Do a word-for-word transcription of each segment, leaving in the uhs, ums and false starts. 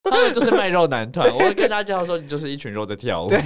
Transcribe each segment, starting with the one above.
他们就是卖肉男团。我会跟大家介绍说，你就是一群肉在跳舞。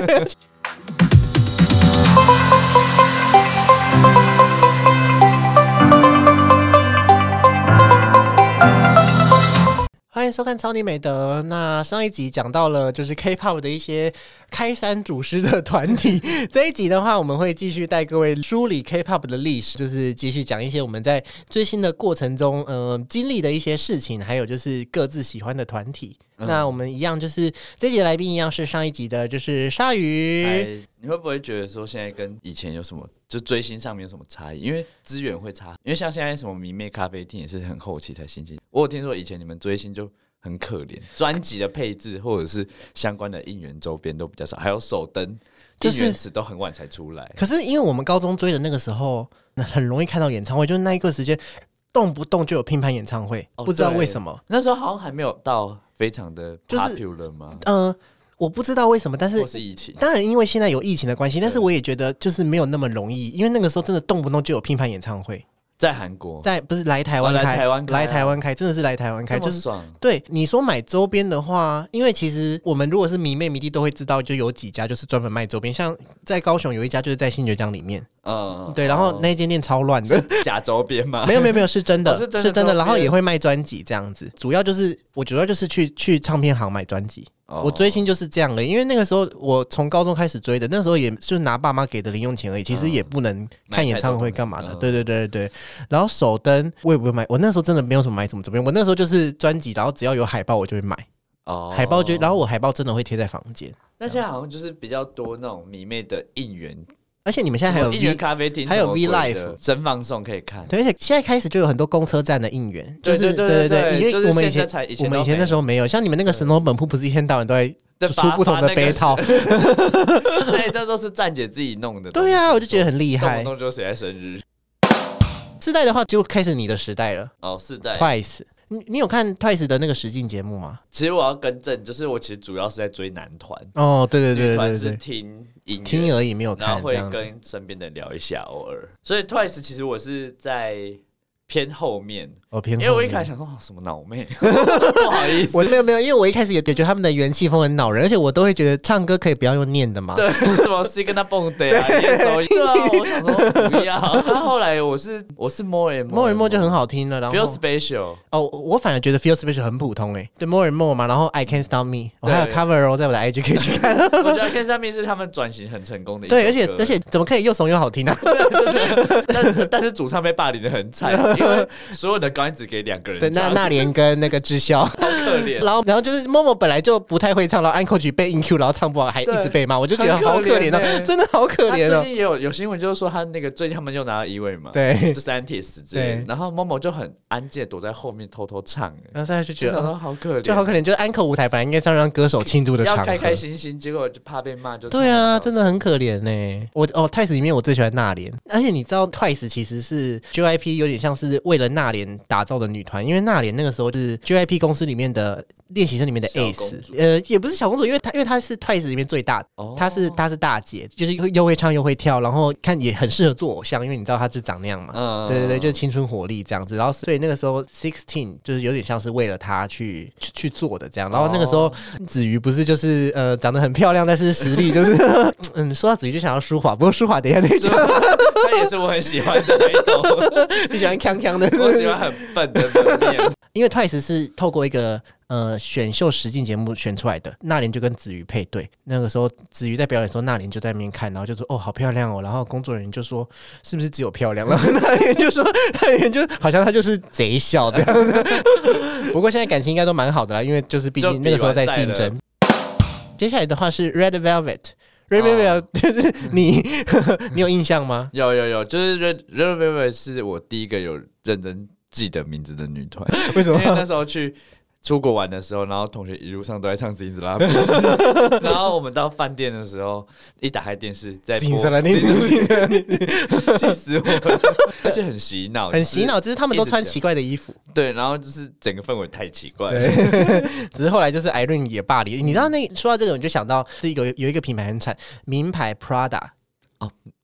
欢迎收看超你美德。那上一集讲到了就是 K-pop 的一些开山祖师的团体，这一集的话我们会继续带各位梳理 K-pop 的历史，就是继续讲一些我们在追星的过程中呃经历的一些事情，还有就是各自喜欢的团体。嗯、那我们一样就是这一集的来宾一样是上一集的就是鲨鱼。 你会不会觉得说现在跟以前有什么就追星上面有什么差异？因为资源会差，因为像现在什么迷妹咖啡厅也是很后期才兴起。我有听说以前你们追星就很可怜，专辑的配置或者是相关的应援周边都比较少，还有手灯、应援词都很晚才出来。 可是因为我们高中追的那个时候，很容易看到演唱会，就是那一个时间动不动就有拼盘演唱会、哦，不知道为什么。 那时候好像还没有到非常的 popular 吗？就是嗯。呃我不知道为什么，但是或是疫情， 当然因为现在有疫情的关系，但是我也觉得就是没有那么容易，因为那个时候真的动不动就有拼盘演唱会， 在韩国， 在不是来台湾开，哦、来台湾开、啊，来台湾开，真的是来台湾开， 这么爽。 就是对你说买周边的话，因为其实我们如果是迷妹迷弟都会知道，就有几家就是专门卖周边，像在高雄有一家就是在新崛江里面。嗯，对，然后那间店超乱的， 假周边吗？ 没有没有没有，是真的，哦、是真的，是真的，然后也会卖专辑这样子。主要就是我主要就是去去唱片行买专辑。哦、我追星就是这样的，因为那个时候我从高中开始追的，那时候也就是拿爸妈给的零用钱而已，其实也不能看演唱会干嘛的。嗯、对对对对对。然后手灯我也不会买，我那时候真的没有什么买什么周边，我那时候就是专辑，然后只要有海报我就会买。哦，海报就，然后我海报真的会贴在房间。 那现在好像就是比较多那种迷妹的应援。 而且你们现在还有 V 咖啡厅， 还有 V Live 真放送可以看。 对，而且现在开始就有很多公车站的应援，就是对对 对, 对，因为我们以前我们以前那时候没有，像你们那个神农本铺不是一天到晚都在出不同的杯套， 对，这都是站姐自己弄的。 对啊，我就觉得很厉害， 动不动就谁在生日。 世代的话就开始你的时代了。 哦，世代 Twice。你, 你有看 Twice 的那个实境节目吗？ 其实我要更正，就是我其实主要是在追男团。 哦，对对对对对， 女团是听音乐听而已，没有看， 然后会跟身边的人聊一下，偶尔。所以 Twice 其实我是在偏后面， 哦，偏后面， 因为我一开始想说、哦、什么脑妹，不好意思， 我没有没有，因为我一开始也觉得他们的元气风很恼人，而且我都会觉得唱歌可以不要用念的嘛， 对，什么 Sing 那蹦的啊，念手音啊，我想说不要。那后来我是我是 More and More and More 就很好听了，然后 Feel Special 哦，我反而觉得 Feel Special 很普通哎、欸，对 More and More 嘛，然后 I Can't Stop Me， 我还有 Cover 哦，在我的 I G 可以去看。 我觉得 I Can't Stop Me 是他们转型很成功的一首歌， 对，而且而且怎么可以又怂又好听啊？ 但是但是主唱被霸凌的很惨，因为所有的高音只给两个人唱， 对，那那莲跟那个智孝， 好可怜。 然后然后就是 Momo 本来就不太会唱，然后 Uncle 曲被 In Q， 然后唱不好，还一直被骂，我就觉得好可怜哦、欸，真的好可怜哦。 最近也有有新闻就是说他那个最近他们又拿到一位嘛， 对， 就是 Antis 之类的，然后 Momo 就很安静躲在后面偷偷唱， 然后大家就觉得哦好可怜， 就好可怜，就是 Uncle 舞台本来应该是让歌手庆祝的场合， 要开开心心，结果就怕被骂，就对啊，真的很可怜呢、欸。我哦 Twice 里面我最喜欢娜莲，而且你知道 Twice 其实是 J Y P 有点像是为了娜莲打造的女团，因为娜莲那个时候是 J Y P 公司里面的练习生里面的 ace， 呃，也不是小公主，因为她因为她是 Twice 里面最大的，哦、她是她是大姐，就是又会唱又会跳，然后看也很适合做偶像，因为你知道她就长那样嘛，嗯、对对对，就是青春活力这样子，然后所以那个时候 sixteen 就是有点像是为了她去去去做的这样，然后那个时候子瑜不是就是呃长得很漂亮，但是实力就是嗯，说到子瑜就想要舒华，不过舒华等一下再讲。 他也是我很喜欢的那一种， 你喜欢锵锵的是不是？ 我喜欢很笨的门面。 因为 Twice 是透过一个呃选秀实境节目选出来的，娜莲就跟子瑜配对。那个时候子瑜在表演的时候，娜莲就在那边看，然后就说：“哦，好漂亮哦。”然后工作人员就说：“是不是只有漂亮？”然后娜莲就说：“娜莲就好像她就是贼笑这样子。”不过现在感情应该都蛮好的啦，因为就是毕竟那个时候在竞争。接下来的话是 Red Velvet。Red Velvet 就是你，你有印象吗？ 有有有，就是 Red Red Velvet 是我第一个有认真记得名字的女团。 为什么？ 因为那时候去出国玩的时候，然后同学一路上都在唱《金子拉比》，然后我们到饭店的时候，一打开电视在播《金子拉比》，气死我了！而且很洗脑， 很洗脑，只是他们都穿奇怪的衣服。 对，然后就是整个氛围太奇怪了。 对，只是后来就是 Irene 也霸凌。你知道那说到这个，我就想到是有有一个品牌很惨，名牌 Prada。 哦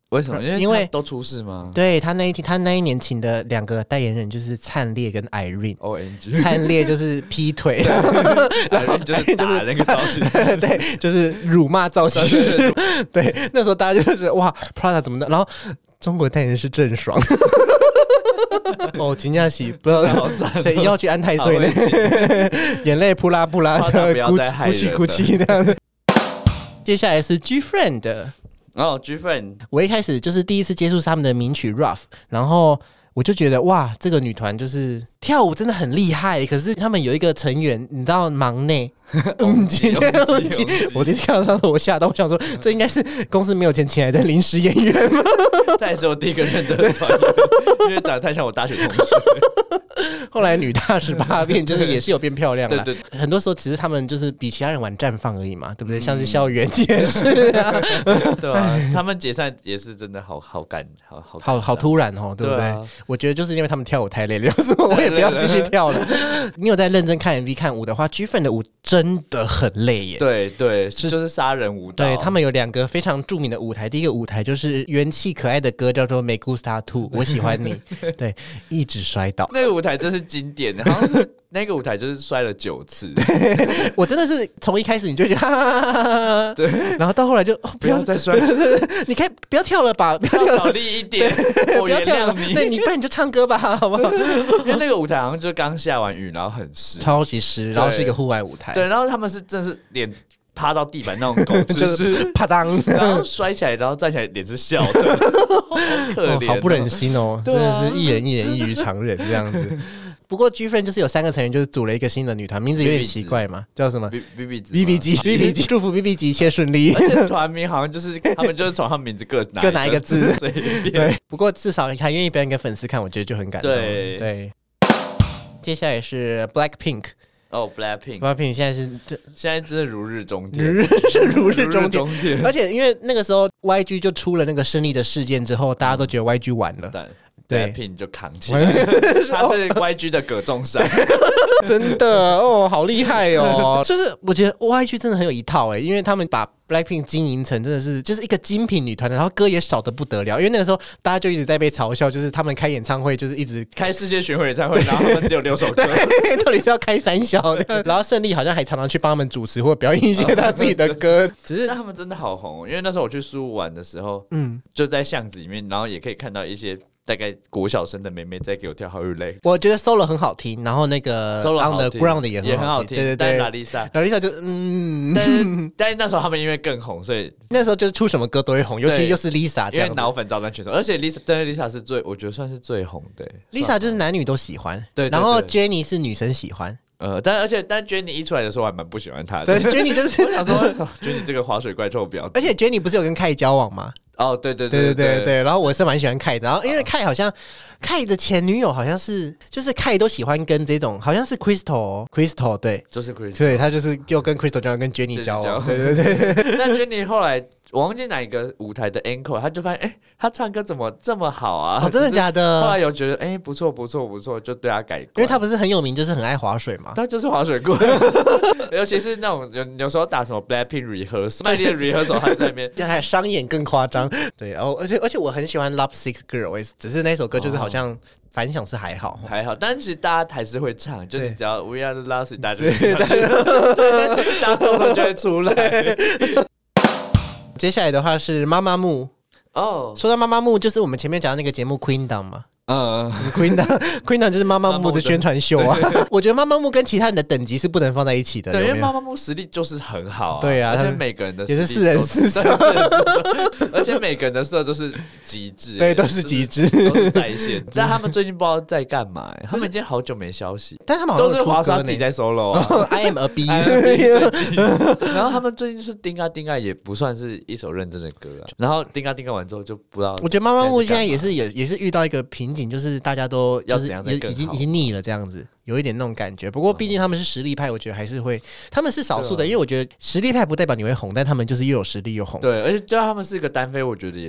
为什么？因为因为都出事吗？ 对他那一天，他那一年请的两个代言人就是灿烈跟 Irene。O M G， 灿烈就是劈腿 ，Irene 就是打那个造型师， 对，就是辱骂造型师。对，那时候大家就是哇 ，Prada 怎么的？然后中国代言人是郑爽。哦，金佳喜不知道谁要去安太岁呢，眼泪扑啦扑啦的，哭哭泣哭泣这样。接下来是 G Friend。 哦 ，G Friend， 我一开始就是第一次接触他们的名曲 Rough， 然后我就觉得哇，这个女团就是跳舞真的很厉害。可是他们有一个成员，你知道忙内，嗯，今天我第一次看到他，我吓到，我想说这应该是公司没有钱请来的临时演员吗？ 他也是我第一个认得的团员，因为长得太像我大学同学。 后来女大十八变，就是也是有变漂亮了。 对对， 很多时候其实他们就是比其他人晚绽放而已嘛，对不对？嗯、像是校园也是啊， 对啊，他们解散也是真的好好感好好好好突然哦，对不对？对啊、我觉得就是因为他们跳舞太累了，所以我也不要继续跳了。你有在认真看 M V 看舞的话 ，G Friend 的舞真的很累耶。 对对，是就是杀人舞蹈。 对他们有两个非常著名的舞台，第一个舞台就是元气可爱的歌，叫做《Me Gusta Tu》，我喜欢你。对，一直摔倒。 那个舞台真是经典的，好像是那个舞台就是摔了九次。 我真的是从一开始你就觉得哈哈哈哈，对，然后到后来就、哦、 不要再摔， 你可以不要跳了吧，不要跳了， 小力一点， 不要跳了，对，你不然你就唱歌吧，好不好？ 因为那个舞台好像就刚下完雨，然后很湿， 超级湿，然后是一个户外舞台， 对，然后他们是真的是脸趴到地板那种狗姿势， 啪当， 然后摔起来，然后站起来，脸是笑的，好可怜、哦哦，好不忍心哦，真的是一人一人异于常人这样子。不过 G Friend 就是有三个成员，就是组了一个新的女团，名字有点奇怪嘛，叫什么 ？B B B B 级 B B 级，祝福 B B 级一切顺利。 而且团名好像就是他们就是从他们名字各拿各拿一个字， 随便。 对，不过至少还愿意表演给粉丝看，我觉得就很感动。对对。接下来是 Blackpink。 哦、oh, ，Blackpink，Blackpink Blackpink 现在是现在真的如日中天， 是如日中天。 中天而且因为那个时候 Y G 就出了那个胜利的事件之后，大家都觉得 Y G 完了。 嗯对 ，Blackpink 就扛起来，他是 Y G 的葛仲山， 真的哦，好厉害哦！就是我觉得 Y G 真的很有一套哎，因为他们把 Blackpink 经营成真的是就是一个精品女团，然后歌也少得不得了。因为那个时候大家就一直在被嘲笑，就是他们开演唱会就是一直开世界巡回演唱会，然后他们只有六首歌， 到底是要开三小？然后胜利好像还常常去帮他们主持或表演一些他自己的歌，只是他们真的好红，因为那时候我去苏玩的时候，嗯，就在巷子里面，然后也可以看到一些。大概国小生的妹妹在给我跳好日累， 我觉得 solo 很好听，然后那个 solo on the ground 也很好听， 对对对。 但拉丽莎， 拉丽莎就嗯， 但是但是那时候他们因为更红，所以那时候就是出什么歌都会红，尤其又是 Lisa， 因为脑粉照单全收，而且 Lisa 对 Lisa 是最，我觉得算是最红的。 Lisa 就是男女都喜欢， 对， 然后 Jennie 是女生喜欢。 呃，但而且但 Jennie 一出来的时候，我还蛮不喜欢她的。 对 ，Jennie 就是我想说、哦、，Jennie 这个滑水怪臭婊子。 而且 Jennie 不是有跟Kai 交往吗？ 哦，对对对对对 对, 对，然后我是蛮喜欢 Kai 的，然后因为 Kai 好像 Kai 的前女友好像是，就是 Kai 都喜欢跟这种，好像是 Crystal Crystal 对， 就是 Crystal， 对他就是又跟 Crystal 交往，跟 Jennie 交往，对对对。 但 Jennie 后来我忘记哪一个舞台的 encore， 他就发现，哎，他唱歌怎么这么好啊？ 哦，真的假的？ 后来有觉得，哎，不错不错不错，就对他改观， 因为他不是很有名，就是很爱划水嘛， 他就是划水棍，尤其是那种有有时候打什么 Blackpink rehearsal， 麦莉的 rehearsal 还在那边， 还商演更夸张，对，然后而且而且我很喜欢 Love Sick Girl， 只是那首歌就是好像。反响是还好， 还好，但其实大家还是会唱，就你只要 We Are the Last， 大家就会唱，大家动作就会出来。 接下来的话是妈妈木哦， 说到妈妈木，就是我们前面讲的那个节目 Queendom 嘛。 嗯 ，Queendom Queendom 就是妈妈木的宣传秀啊。我觉得妈妈木跟其他人的等级是不能放在一起的， 对，因为妈妈木实力就是很好啊， 对啊， 而且每个人的也是四人四色， 而且每个人的色都是极致， 对，都是极致， 都是在线。但他们最近不知道在干嘛，他们已经好久没消息， 但他们好像都是华莎自己在 solo 啊 ，I am a B。 然后他们最近是丁啊丁啊，也不算是一首认真的歌啊。然后丁啊丁啊完之后就不知道， 我觉得妈妈木现在也是也也是遇到一个瓶颈。就是大家都就是已经已经腻了这样子，有一点那种感觉。不过毕竟他们是实力派，我觉得还是会，他们是少数的，因为我觉得实力派不代表你会红，但他们就是又有实力又红。 对，而且就他们是一个单飞，我觉得也是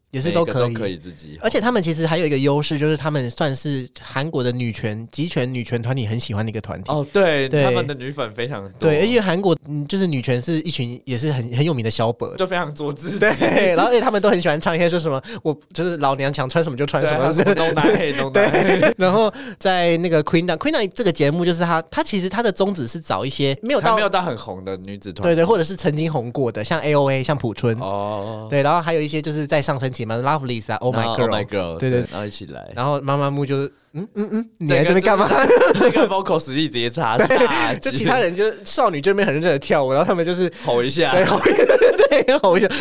也是都可以， 可以自己。 而且他们其实还有一个优势，就是他们算是韩国的女权极权女权团体很喜欢的一个团体。 哦，对，对他们的女粉非常多。 对，而且韩国嗯，就是女权是一群也是很很有名的小本， 就非常做自己。 对，然后而且他们都很喜欢唱一些说什么，我就是老娘想穿什么就穿什么， 东南黑东南黑。 然后在那个 Queen Dam，Queen Dam 这个节目就是他，他其实他的宗旨是找一些没有到没有到很红的女子团， 对对，或者是曾经红过的，像 A O A， 像朴春哦， 对，然后还有一些就是在上升期嘛 ，Lovelyz 啊 ，Oh My Girl， Oh My Girl， 对对， 然后一起来， 然后妈妈木就是嗯嗯嗯，你来这边干嘛？ 这个 vocal 实力直接差大， 就其他人就少女这边很认真的跳舞，然后他们就是吼一下， 对，吼一下，对，吼一下。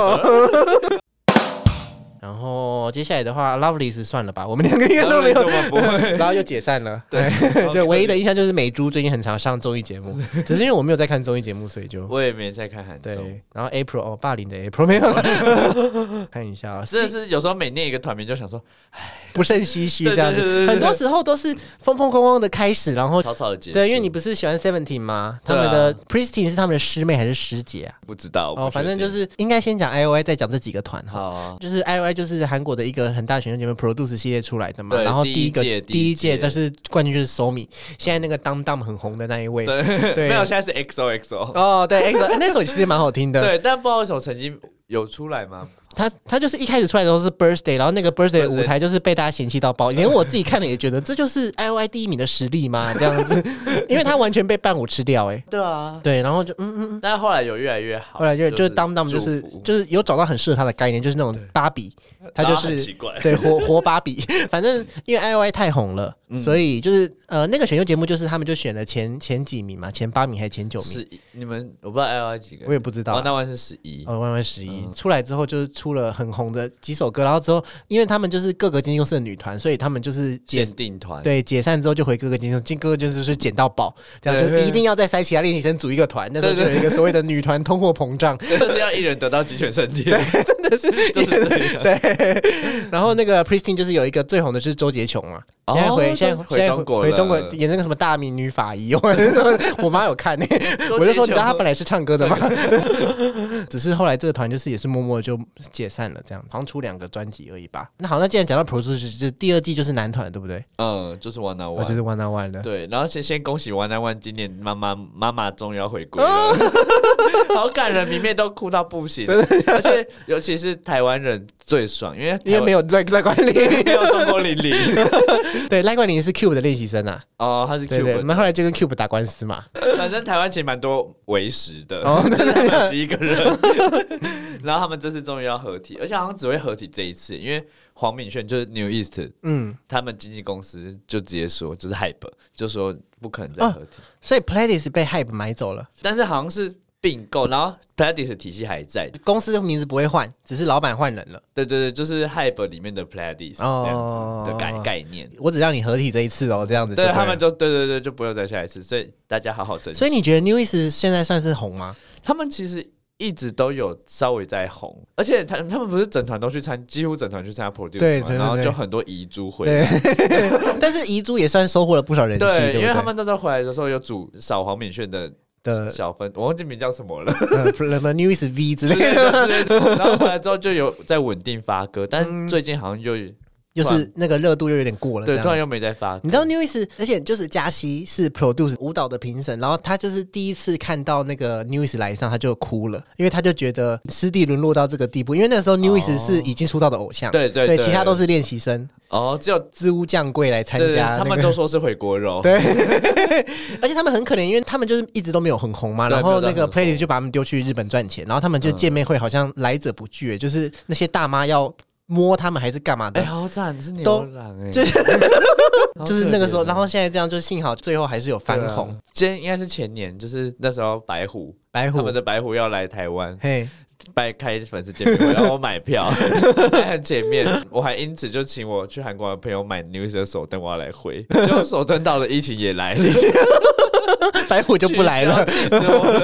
然后接下来的话 ，Lovelyz 算了吧，我们两个应该都没有，然后又解散了。对，对，唯一的印象就是美珠最近很常上综艺节目，只是因为我没有在看综艺节目，所以就我也没在看韩综。 对，然后 April 哦，霸凌的 April 没有了，看一下啊， 真的是有时候每念一个团名就想说，唉， 不胜唏嘘这样子，很多时候都是风风光光的开始，然后草草的结束。 对，因为你不是喜欢 Seventeen 吗？他们的 Pristine 是他们的师妹还是师姐啊？ 不知道哦，反正就是应该先讲 I O I， 再讲这几个团哈。 好， 就是 I O I 就是韩国的一个很大选秀节目 Produce 系列出来的嘛， 对， 然后第一个第一届，但是是冠军就是 Somi， 现在那个 Dam Dam 很红的那一位， 对， 对没有，现在是 X O X O。 哦，对 X O， 那首其实蛮好听的， 对，但不知道为什么成绩有出来吗？ 他他就是一开始出来的时候是 Birthday， 然后那个 Birthday 的舞台就是被大家嫌弃到爆，连我自己看了也觉得这就是 I O I 第一名的实力吗？这样子，因为他完全被伴舞吃掉，哎、欸， 对啊， 对，然后就嗯嗯， 但是后来有越来越好， 后来就就是 Dam Dam 就是就是有找到很适合他的概念，就是那种芭比，他就是奇怪， 对活活芭比，反正因为 I O I 太红了，嗯、所以就是呃那个选秀节目就是他们就选了前前几名嘛，前八名还是前九名？ 是你们我不知道 I O I 几个， 我也不知道、啊， 那万是十一， 哦，万万十一、嗯、出来之后就是出了很红的几首歌，然后之后因为他们就是各个经纪公司的女团，所以他们就是限定团， 对，解散之后就回各个经纪公司，各个就是捡到宝，这样就一定要再塞其他练习生组一个团，那时候就有一个所谓的女团通货膨胀， 就是要一人得到鸡犬升天， 对，真的是就是这样， 对。然后那个 Pristine 就是有一个最红的就是周杰琼嘛。现在回、哦、现在回中国回中国演那个什么大名女法医，我妈有看呢、欸，我就说你知道她本来是唱歌的吗？只是后来这个团就是也是默默就解散了，这样好像出两个专辑而已吧。那好，那既然讲到 Produce， 就第二季就是男团对不对？ 嗯，就是 One on One， 就是 One on One 的。 对，然后先先恭喜 One on One 今年妈妈妈妈终于要回归了，好感人，里面都哭到不行，而且尤其是台湾人最爽，因为因为没有赖赖冠霖， 没有中国玲玲。 对，赖冠霖是 Cube 的练习生啊。 哦，他是 Cube， 对对，我们后来就跟 Cube 打官司嘛。 反正台湾其实蛮多为食的， 哦， 就是他们十一个人，然后他们这次终于要合体，而且好像只会合体这一次，因为黄敏炫就是 New East， 嗯，他们经纪公司就直接说就是 Hype， 就说不可能再合体，哦、 所以 Pledis 被 Hype 买走了， 但是好像是并购，然后 Pledis 体系还在， 公司的名字不会换，只是老板换人了。 对对对，就是 Hype 里面的 Pledis 这样子的概、哦、概念。 我只让你合体这一次哦，这样子就 对, 对他们就对对对，就不用再下一次，所以大家好好珍惜。 所以你觉得 New East 现在算是红吗？ 他们其实一直都有稍微在红，而且他他们不是整团都去参，几乎整团去参加 Produce， 对, 对, 对， 然后就很多遗珠回来， 但是遗珠也算收获了不少人气， 对, 对， 因为他们那时候回来的时候有组少黄敏炫的。的小分，我忘记名叫什么了， 呃，什么 New East V 之类的， 然后回来之后就有在稳定发歌，但是最近好像又。 又是那个热度又有点过了， 对，突然又没在发歌。 你知道 New East， 而且就是嘉熙是 Produce 舞蹈的评审，然后他就是第一次看到那个 New East 来上，他就哭了，因为他就觉得师弟沦落到这个地步，因为那时候 New East 是已经出道的偶像， 对对对, 对，其他都是练习生。 哦，只有自乌降贵来参加、那個， 他们都说是回锅肉， 对，而且他们很可怜，因为他们就是一直都没有很红嘛，然后那个 Pledis 就把他们丢去日本赚钱，然后他们就见面会好像来者不拒，嗯、就是那些大妈要摸他们还是干嘛的？ 哎、欸，好惨，是牛郎哎、欸， 就, 就是那个时候，然后现在这样，就幸好最后还是有翻红。 今天应该是前年，就是那时候白虎， 白虎他们的白虎要来台湾， 嘿。 拜开粉丝见面会，然后我买票在很前面，我还因此就请我去韩国的朋友买 New East 的手灯，我要来回，结果手灯到了，疫情也来了， 白虎就不来了。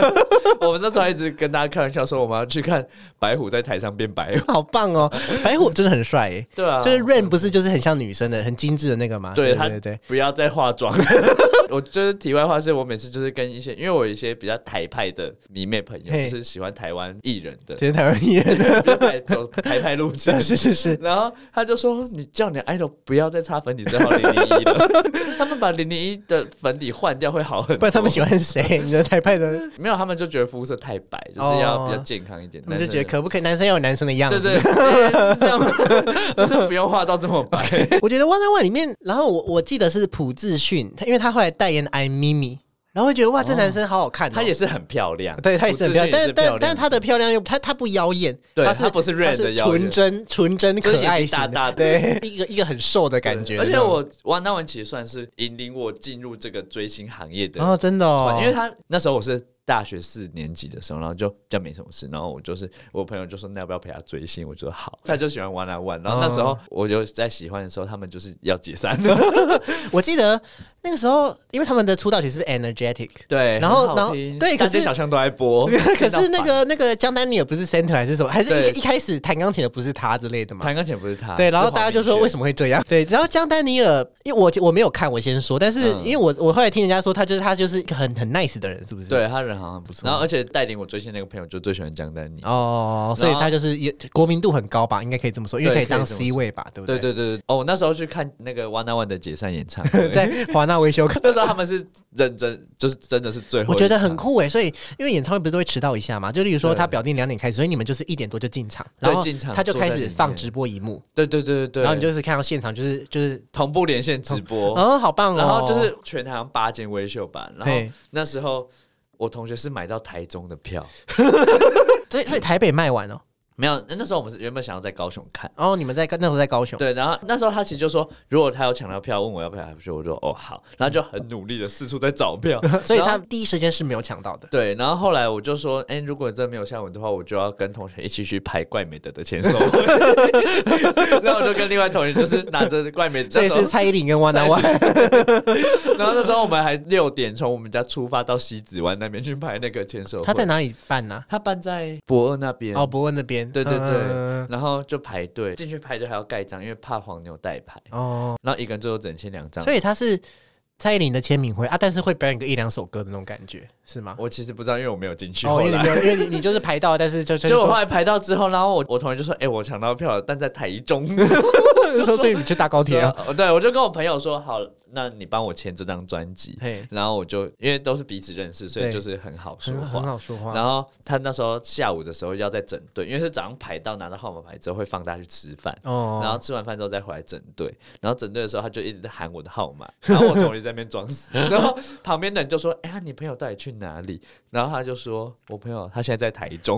我们那时候还一直跟大家开玩笑说，我们要去看白虎在台上变白虎， 好棒哦！白虎真的很帅耶。 对啊， 就是 Rain 不是就是很像女生的、很精致的那个吗？ 对对对对， 不要再化妆。我就是题外话，是我每次就是跟一些，因为我有一些比较台派的迷妹朋友，就是喜欢台湾艺人的， 这是台湾艺人的， 比较台走台派路线， 是是是。 然后他就说：“你叫你的 idol 不要再擦粉底色号零零一了，他们把零零一的粉底换掉会好很多。” 不然他们喜欢谁？你的台派的没有，他们就觉得肤色太白，就是要比较健康一点。 他们就觉得可不可以男生要有男生的样子？ 对对对，是这样吗？就是不用画到这么白。 我觉得 One on One 里面，然后我我记得是朴智勋，因为他后来代言 I'm Mimi。然后会觉得哇，这男生好好看、哦， 他也是很漂亮， 对他也是很漂亮，但但但他的漂亮又他他不妖艳， 对， 他是他不是 Rain 的妖艳， 纯真纯真可爱型的， 大大的， 对，一个一个很瘦的感觉。 而且我One on One其实算是引领我进入这个追星行业的哦，真的哦， 因为他那时候我是大学四年级的时候，然后就比较没什么事，然后我就是我朋友就说那要不要陪他追星，我就说好，他就喜欢One on One，然后那时候我就在喜欢的时候，他们就是要解散了。 我记得那个时候，因为他们的出道曲是不是 Energetic？ 对， 然后然后对，可是小象都在播， 可是那个那个江丹尼尔不是 Center 还是什么？还是一一开始弹钢琴的不是他之类的吗？ 弹钢琴不是他， 对，然后大家就说为什么会这样？对，然后江丹尼尔，因为我我没有看，我先说，但是因为我我后来听人家说，他就是他就是一个很很 nice 的人，是不是？ 对他人好像不错，然后而且带领我追星那个朋友就最喜欢江丹尼哦，所以他就是国民度很高吧，应该可以这么说，因为可以当 C 位吧，对不对？ 对对对哦，我那时候去看那个 One on One 的解散演唱会， 在华纳维修课， 那时候他们是认真，就是真的是最后， 我觉得很酷哎，所以因为演唱会不是都会迟到一下嘛，就例如说他表定两点开始，所以你们就是一点多就进场，然后他就开始放直播一幕， 对对对对， 然后你就是看到现场就是就是同步连线直播， 哦，好棒哦， 然后就是全台好像八间微秀版，然后那时候我同学是买到台中的票， 所以所以台北卖完哦。 没有，那时候我们是原本想要在高雄看， 哦，你们在那时候在高雄， 对，然后那时候他其实就说，如果他有抢到票，问我要不要来去，我就哦好，然后就很努力的四处在找票， 所以他第一时间是没有抢到的。 对，然后后来我就说，哎、欸，如果真没有下文的话，我就要跟同学一起去排怪美德的签售会，然后我就跟另外同学就是拿着怪美德， 这也是蔡依林跟One on One， 然后那时候我们还六点从我们家出发到西子湾那边去排那个签售会。 他在哪里办呢、啊？ 他办在博二那边。 哦，博二那边。 对对对。嗯然后就排队进去排队还要盖章，因为怕黄牛代排哦。然后一个人最后只能签两张， 所以他是蔡依林的签名会啊，但是会表演个一两首歌的那种感觉是吗？ 我其实不知道，因为我没有进去。 哦，因为你没有，因为你你就是排到，但是就就我后来排到之后，然后我我同学就说：“哎、欸，我抢到票了，但在台中。” 说所以你去搭高铁啊？ 对，我就跟我朋友说：“好，那你帮我签这张专辑。”然后我就因为都是彼此认识，所以就是很好说话， 很好说话。 然后他那时候下午的时候要在整队，因为是早上排到拿到号码牌之后会放大家去吃饭，哦，然后吃完饭之后再回来整队。然后整队的时候他就一直在喊我的号码，然后我同学在那边装死，然后旁边的人就说：“哎、欸，你朋友到底去哪里？”然后他就说：“我朋友他现在在台中。”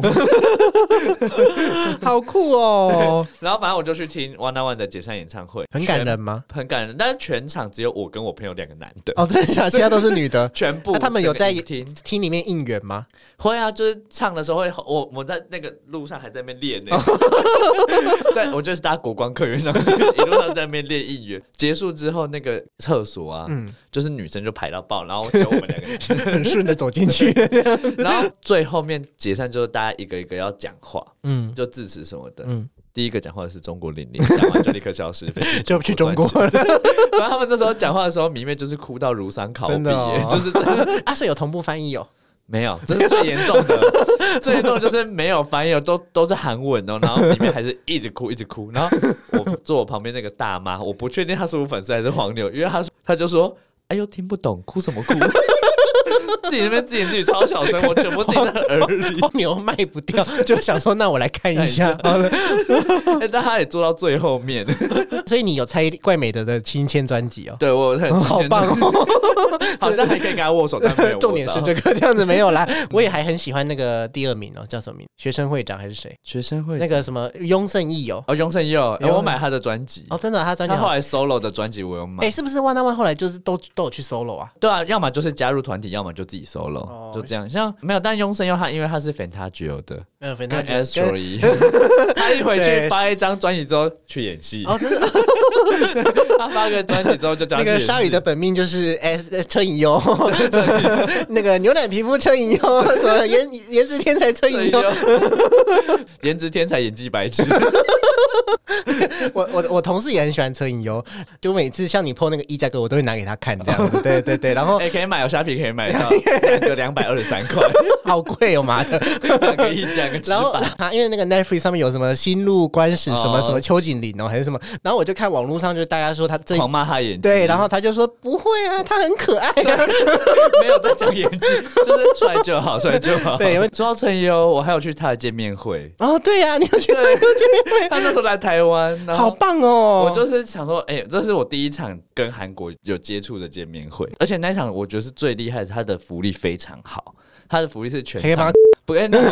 好酷哦！ 然后反正我就去听 One on One 的解散演唱会， 很感人吗？ 很感人，但是全场只有我跟我朋友两个男的。 哦，真的假的？其他都是女的， 全部。 那他们有在听听里面应援吗？ 会啊，就是唱的时候会，我我在那个路上还在那边练呢。对，我就是搭国光客运上，一路上在那边练应援。结束之后，那个厕所啊，嗯，就是女生就排到爆，然后只有我们两个人很顺的走进去。 然后最后面解散之后，大家一个一个要讲话，嗯，就致辞什么的，嗯。第一个讲话的是中国玲玲，讲完就立刻消失， 就去中国了。 然后他们那时候讲话的时候，迷妹就是哭到如丧考妣，哦、就是啊，所以有同步翻译哦。 没有，这是最严重的，最严重的就是没有翻译，都都是韩文哦，然后里面还是一直哭一直哭。然后我坐我旁边那个大妈，我不确定她是我粉丝还是黄牛，因为她她就说：“哎呦，听不懂，哭什么哭？”自己那边自言自语超小声，我全部听在耳里。 黄牛卖不掉，就想说那我来看一下。好了， 但他也做到最后面， 所以你有猜怪美德的亲签专辑哦？ 对，我很好棒哦， 好像还可以跟他握手，但没有握到。 重点是这个，这样子没有啦。我也还很喜欢那个第二名哦，叫什么名？学生会长还是谁？ 学生会那个什么雍胜义哦， 哦雍胜义哦，我买他的专辑哦，真的，他专辑他后来 solo 的专辑我有买。 哎，是不是One on One后来就是都都有去 solo 啊？ 对啊，要么就是加入团体，要么就自己 solo，、 哦、 就这样。像没有，但庸声优他因为他是 Fantagio 的， 嗯 ，Fantagio Astro 一样，他一回去发一张专辑之后去演戏。哦，真的。他发个专辑之后就叫那个鲨鱼的本命就是 S 车银优，那个牛奶皮肤车银优，什么颜颜值天才车银优， 颜值天才演技白痴。 我我我同事也很喜欢车银优，就每次像你 po 那个衣架哥，我都会拿给他看这样子。对对对，然后哎、欸，可以买哦，虾皮可以买到两个两百二十三块， 好贵哦妈的， 两个一两个。 然后他因为那个 Netflix 上面有什么新入关史什么、哦、什么邱景玲哦还是什么，然后我就看网络上就大家说他这狂骂他演技， 对，然后他就说不会啊，他很可爱啊， 没有在讲演技，就是帅就好，帅就好。对，因为说到陈优，我还有去他的见面会。 哦，对呀、啊，你有去他的见面会？ 他那时候来台湾， 好棒哦！ 我就是想说，哎、欸，这是我第一场跟韩国有接触的见面会，而且那一场我觉得是最厉害的，他的福利非常好，他的福利是全场不哎，那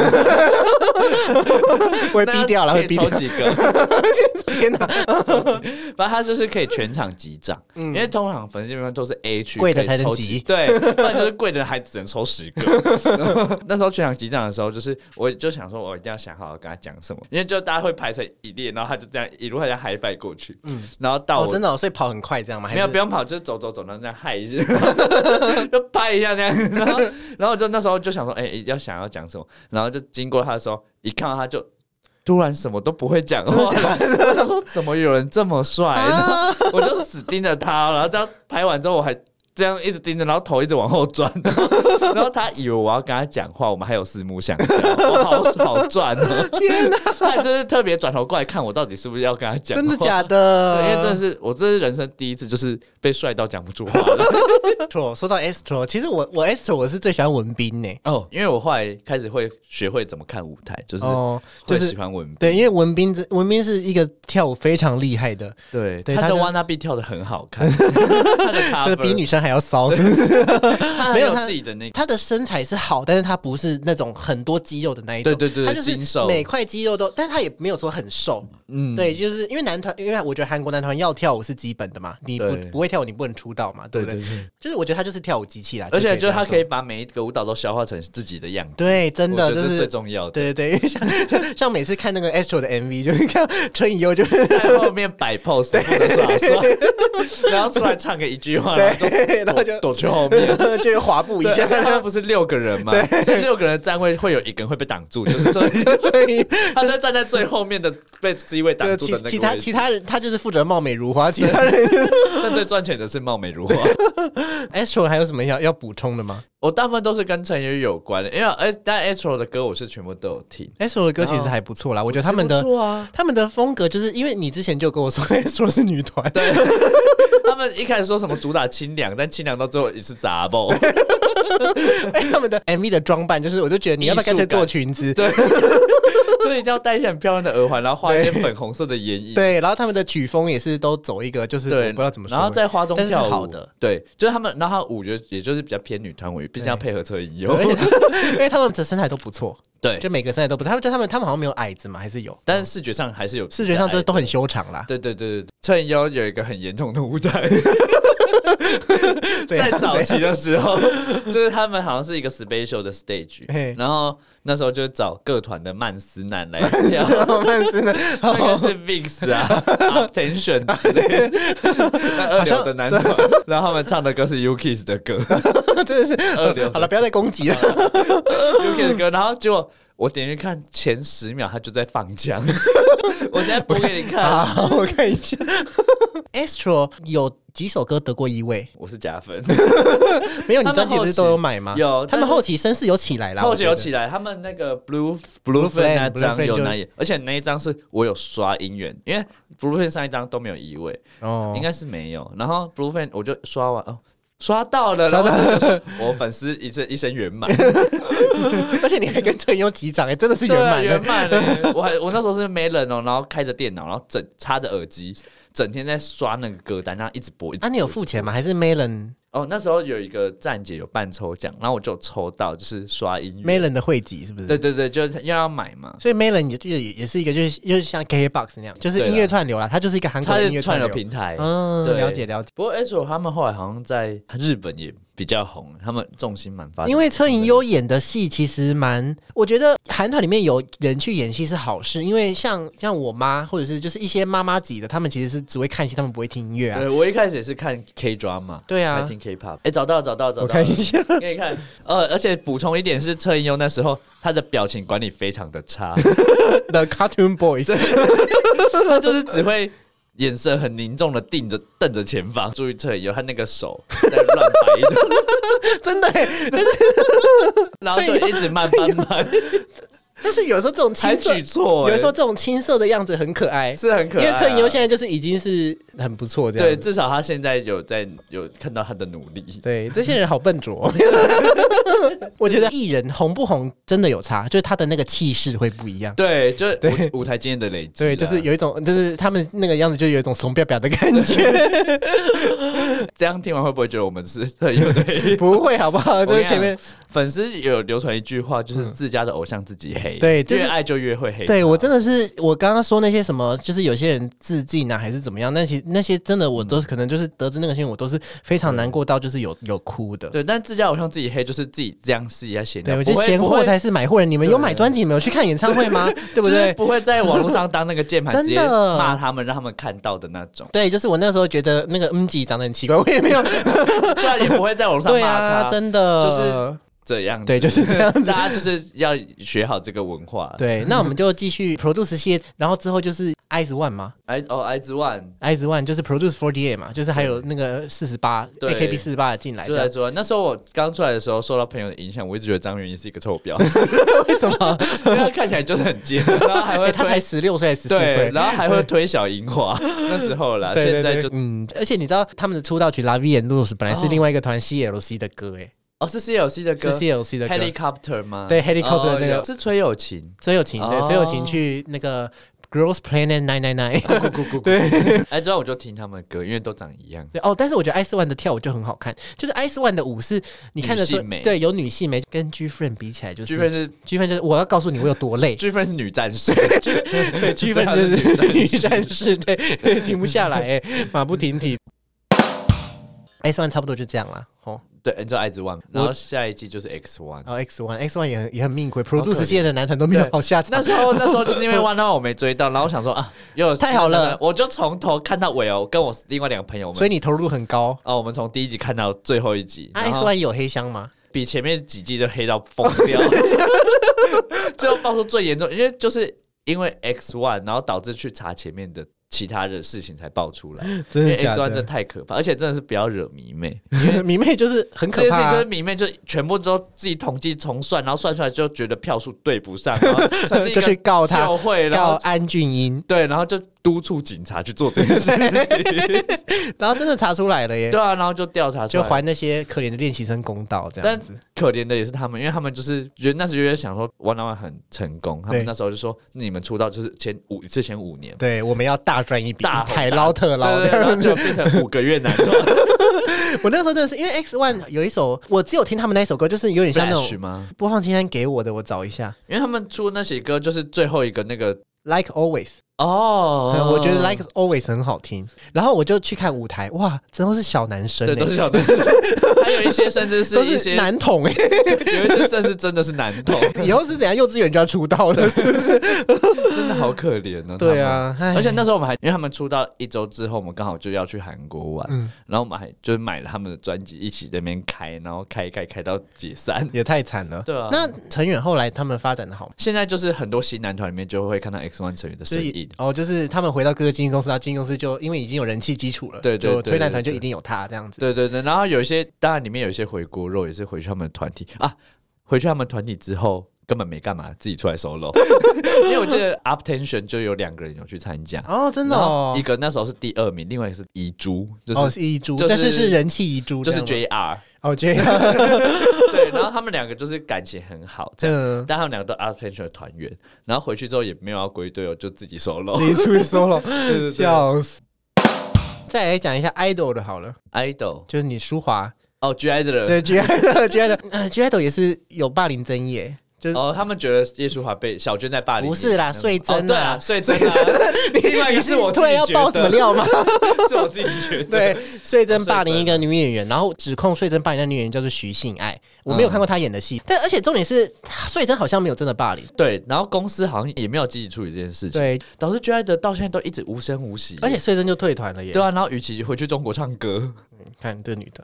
会逼掉了，会逼掉几个。 天哪！ 反正他就是可以全场击掌，嗯、因为通常粉丝见面都是 A 区贵的才能击， 对，不然就是贵的还只能抽十个。那时候全场击掌的时候，就是我就想说，我一定要想好要跟他讲什么，因为就大家会排成一列，然后他就这样一路好像 high five 过去，嗯，然后到我、 哦、真的、哦，所以跑很快这样吗？ 没有，不用跑，就是走走走，然后这样嗨一下，就拍一下这样，然后然后就那时候就想说，哎、欸，要想要讲什么，然后就经过他的时候，一看到他就。突然什么都不会讲话，我想说怎么有人这么帅，然后我就死盯着他，然后这样拍完之后我还这样一直盯着，然后头一直往后转，然后他以为我要跟他讲话，我们还有四目相交，我好好转哦！天哪，他还就是特别转头过来看我到底是不是要跟他讲话， 真的假的？ 对，因为真的是我这是人生第一次，就是被帅到讲不出话了。 说到 Astro， 其实我我 Astro 我是最喜欢文彬呢。 哦，因为我后来开始会学会怎么看舞台，就是会喜欢文彬、哦就是。对，因为文彬文彬是一个跳舞非常厉害的， 对，对他的 wannabe 跳得很好看，他的 cover 这比女生还要骚，是不是？ 他没有自己的那个， 他的身材是好，但是他不是那种很多肌肉的那一种， 对对对， 他就是每块肌肉都，但是他也没有说很瘦。嗯，对，就是因为男团，因为我觉得韩国男团要跳舞是基本的嘛，你不不会跳舞，你不能出道嘛，对不对？对对对，就是我觉得他就是跳舞机器啦， 而且就是他可以把每一个舞蹈都消化成自己的样子， 对，真的这是最重要的。 对对对，像像每次看那个 Astro 的 M V， 就是看春以优就在后面摆 pose， 耍帅，然后出来唱个一句话，然后就躲去后面， 就滑步一下。 他不是六个人嘛，所以六个人站位会有一个人会被挡住，就是说他在站在最后面的被 C 位挡住的那个。 其他其他人他就是负责貌美如花，其他人但最赚钱的是貌美如花。 Astro 还有什么要要补充的吗？ 我大部分都是跟陈宇有关的，因为但 Astro 的歌我是全部都有听。 Astro 的歌其实还不错啦，我觉得他们的、啊、他们的风格就是因为你之前就跟我说 Astro 是女团， 对，他们一开始说什么主打清凉，但清凉到最后也是杂爆。 哎，他们的 M V 的装扮就是，我就觉得你要不要干脆做裙子？ 对。所以一定要戴一些很漂亮的耳环，然后画一些粉红色的眼影。 对，然后他们的曲风也是都走一个，就是我不知道怎么说。 然后在花中跳舞， 好的， 对，就是他们，然后他舞觉得也就是比较偏女团舞，毕竟要配合车银优， 因为他们的身材都不错。 对， 就每个身材都不错。他们就他们他们好像没有矮子嘛，还是有， 但是视觉上还是有， 视觉上就都很修长啦。 对对对对，车银优有一个很严重的舞台。在早期的时候，就是他们好像是一个 special 的 stage， 然后那时候就找各团的曼斯男来跳， 曼斯男， 那个是 Vix 啊 ，Attention 之类的，那二流的男团，然后他们唱的歌是 U K I S S 的歌， 真的是二流。好了，不要再攻击了 ，U K I S S 的歌，然后结果我点进去看前十秒，他就在放枪。我现在播给你看， 好，我看一下。Astro 有几首歌得过一位， 我是加分。 没有，你专辑不是都有买吗？ 有， 他们后期声势有起来啦， 后期有起来。他们那个 Blue Blue Flame 那张有那，而且那一张是我有刷音源，因为 Blue Flame 上一张都没有移位，哦，应该是没有。然后 Blue Flame 我就刷完哦。刷到了，然后我粉丝一生一生圆满， 而且你还跟陈优击掌，哎，真的是圆满圆满了。我还我那时候是没人哦，然后开着电脑，然后整插着耳机，整天在刷那个歌单，然后一直播。 啊，你有付钱吗？还是 Melon？ 哦，那时候有一个站姐有办抽奖，然后我就抽到，就是刷音乐 Melon 的汇集是不是？ 对对对，就是要要买嘛。 所以 Melon 也也也是一个，就是就是像 K K B O X 那样，就是音乐串流啦，它就是一个韩国的音乐串流平台。 嗯，了解了解。 不过 Astro 他们后来好像在日本也比较红，他们重心蛮发展。 因为车银优演的戏其实蛮，我觉得韩团里面有人去演戏是好事，因为像像我妈或者是就是一些妈妈级的，他们其实是只会看戏，他们不会听音乐啊。 对，我一开始也是看 K drama， 对啊， 才听 K-pop。哎，找到了找到了找到了， 我看一下， 给你看。呃，而且补充一点是，车银优那时候他的表情管理非常的差 The Cartoon Boys， 他就是只会眼神很凝重的盯着瞪着前方，注意车银优他那个手在乱摆的， 真的耶，但是然后就一直慢慢慢。 但是有时候这种青还涩， 举错、欸， 有时候这种青涩的样子很可爱， 是很可爱、啊。 因为车银优现在就是已经是很不错这样， 对，至少他现在有在有看到他的努力。 对，这些人好笨拙。我觉得艺人红不红真的有差，就是他的那个气势会不一样。 对，就是舞舞台经验的累积。 对，就是有一种，就是他们那个样子，就有一种怂表表的感觉。 这样听完会不会觉得我们是特有的？ 不会，好不好？就是前面粉丝有流传一句话，就是自家的偶像自己黑， 对，就是、 越爱就越会黑。 对我真的是，我刚刚说那些什么，就是有些人自尽啊，还是怎么样？那些那些真的，我都是、嗯、可能就是得知那个新闻，我都是非常难过到就是有有哭的。 对，但自家偶像自己黑，就是自己这样试一下闲聊。 对，我觉得闲货才是买货人。你们有买专辑，你们有去看演唱会吗？对不对？ 就是不会在网络上当那个键盘直接骂他们，让他们看到的那种。 对，就是我那时候觉得那个嗯吉长得很奇怪，我也没有， 虽然也不会在网络上骂他， 对啊，真的就是。这样子， 对，就是这样子， 大家就是要学好这个文化。 对，那我们就继续 Produce 系列，然后之后就是 I Z ONE 嘛 ，I 哦 I Z ONE，I Z ONE 就是 Produce forty-eight 嘛，就是还有那个四十八 A K B 四十八进来。 就 I Z ONE，那时候我刚出来的时候，受到朋友的影响，我一直觉得张元英是一个臭婊。 为什么？ 因为他看起来就是很尖，然后还会、欸、 他才十六岁、十四岁， 然后还会推小樱花。那时候啦， 对对对， 现在就嗯，而且你知道他们的出道曲《La Vie en Rose》本来是另外一个团 C L C 的歌，哎。 哦，是 C L C 的歌， 是 C L C 的歌 ，Helicopter 吗？ 对 ，Helicopter 的那个、 哦、是崔友琴， 崔友琴对，崔友琴去那个 Girls Planet nine nine nine， 对， 哎，之后我就听他们的歌，因为都长一样。 对哦，但是我觉得 I Z ONE 的跳舞就很好看，就是 I Z ONE 的舞是你看得出，对，有女性美，跟 G Friend 比起来，就是 G Friend 是 G Friend 就是我要告诉你我有多累 ，G Friend 是女战士， 对 ，G Friend 就是女战士，对，停不下来，哎，马不停蹄。I Z ONE 差不多就这样啦，哦。 对，你知道 I Z ONE， 然后下一季就是 X ONE， 哦 X ONE，X ONE 也很也很命亏 ，Produce 系列的男团都没有好下场。 那时候那时候就是因为 One Hour 我没追到，然后我想说啊，又太好了， 我就从头看到尾哦，跟我另外两个朋友们， 所以你投入很高哦。我们从第一集看到最后一集。 啊、X ONE 有黑箱吗？ 比前面几季都黑到疯掉，最后爆出最严重，因为就是因为 X ONE， 然后导致去查前面的。其他的事情才爆出来， 真的假的？ 因为 X ONE 真的太可怕，而且真的是不要惹迷妹， 迷妹就是很可怕、啊。 就是迷妹就全部都自己统计重算，然后算出来就觉得票数对不上，然后就去告他， 告安俊英， 对，然后就督促警察去做这件事情， 然后真的查出来了耶。 对啊，然后就调查出来， 就还那些可怜的练习生公道，这样子。 但可怜的也是他们，因为他们就是觉得那时候就想说 One on One 很成功，他们那时候就说你们出道就是前五之前五年， 对，我们要大赚一笔， 大海捞特捞， 对对对，然后就变成五个月男团。 我那时候真的是因为 X ONE 有一首，我只有听他们那一首歌，就是有点像那种吗？ 播放清单给我的，我找一下， 因为他们出那些歌就是最后一个那个 Like Always。 哦、 oh ，我觉得 Like Always 很好听，然后我就去看舞台，哇，真都是小男生、欸， 对，都是小男生，还有一些甚至是一些男童、欸， 有一些甚至真的是男童， 以后是怎样？幼稚园就要出道了，是不是？ 真的好可怜哦。 对啊， 而且那时候我们还因为他们出道一周之后，我们刚好就要去韩国玩、嗯，然后我们还就是买了他们的专辑，一起在那边开，然后开一开开到解散， 也太惨了。 对啊， 那成员后来他们发展的好吗？ 现在就是很多新男团里面就会看到 X ONE 成员的身影。 哦，就是他们回到各个经纪公司，然后经纪公司就因为已经有人气基础了， 对对 对, 对, 对， 推男团就一定有他这样子。 对对对，然后有一些当然里面有一些回锅肉，也是回去他们的团体啊，回去他们团体之后根本没干嘛，自己出来 solo。因为我记得 Uptension 就有两个人有去参加哦，真的哦， 一个那时候是第二名，另外一个是遗珠，就是、 哦是遗珠、 就是， 但是是人气遗珠， 就是 J R。 哦 ，J R 对，然后他们两个就是感情很好，这样， 嗯、 但他们两个都 Uptension 的团员，然后回去之后也没有要归队哦，就自己 solo， 自己出去 solo， 笑死。再来讲一下 idol 的好了 ，idol 就是你舒华哦 ，G idol， 对 G idol，G idol， 呃 G idol 也是有霸凌争议。 就是哦，他们觉得叶淑华被小娟在霸凌， 不是啦，穗珍、啊哦、对啊，穗珍啊，另外一个是我自己突然要爆什么料吗？ 是我自己觉得， 对，穗珍霸凌一个女演员，然后指控穗珍霸凌的女演员叫做徐信爱，我没有看过她演的戏，嗯、但而且重点是穗珍好像没有真的霸凌， 对，然后公司好像也没有积极处理这件事情，对，导致 J I 的到现在都一直无声无息， 而且穗珍就退团了耶， 对啊，然后与其回去中国唱歌， 嗯、看这个女的。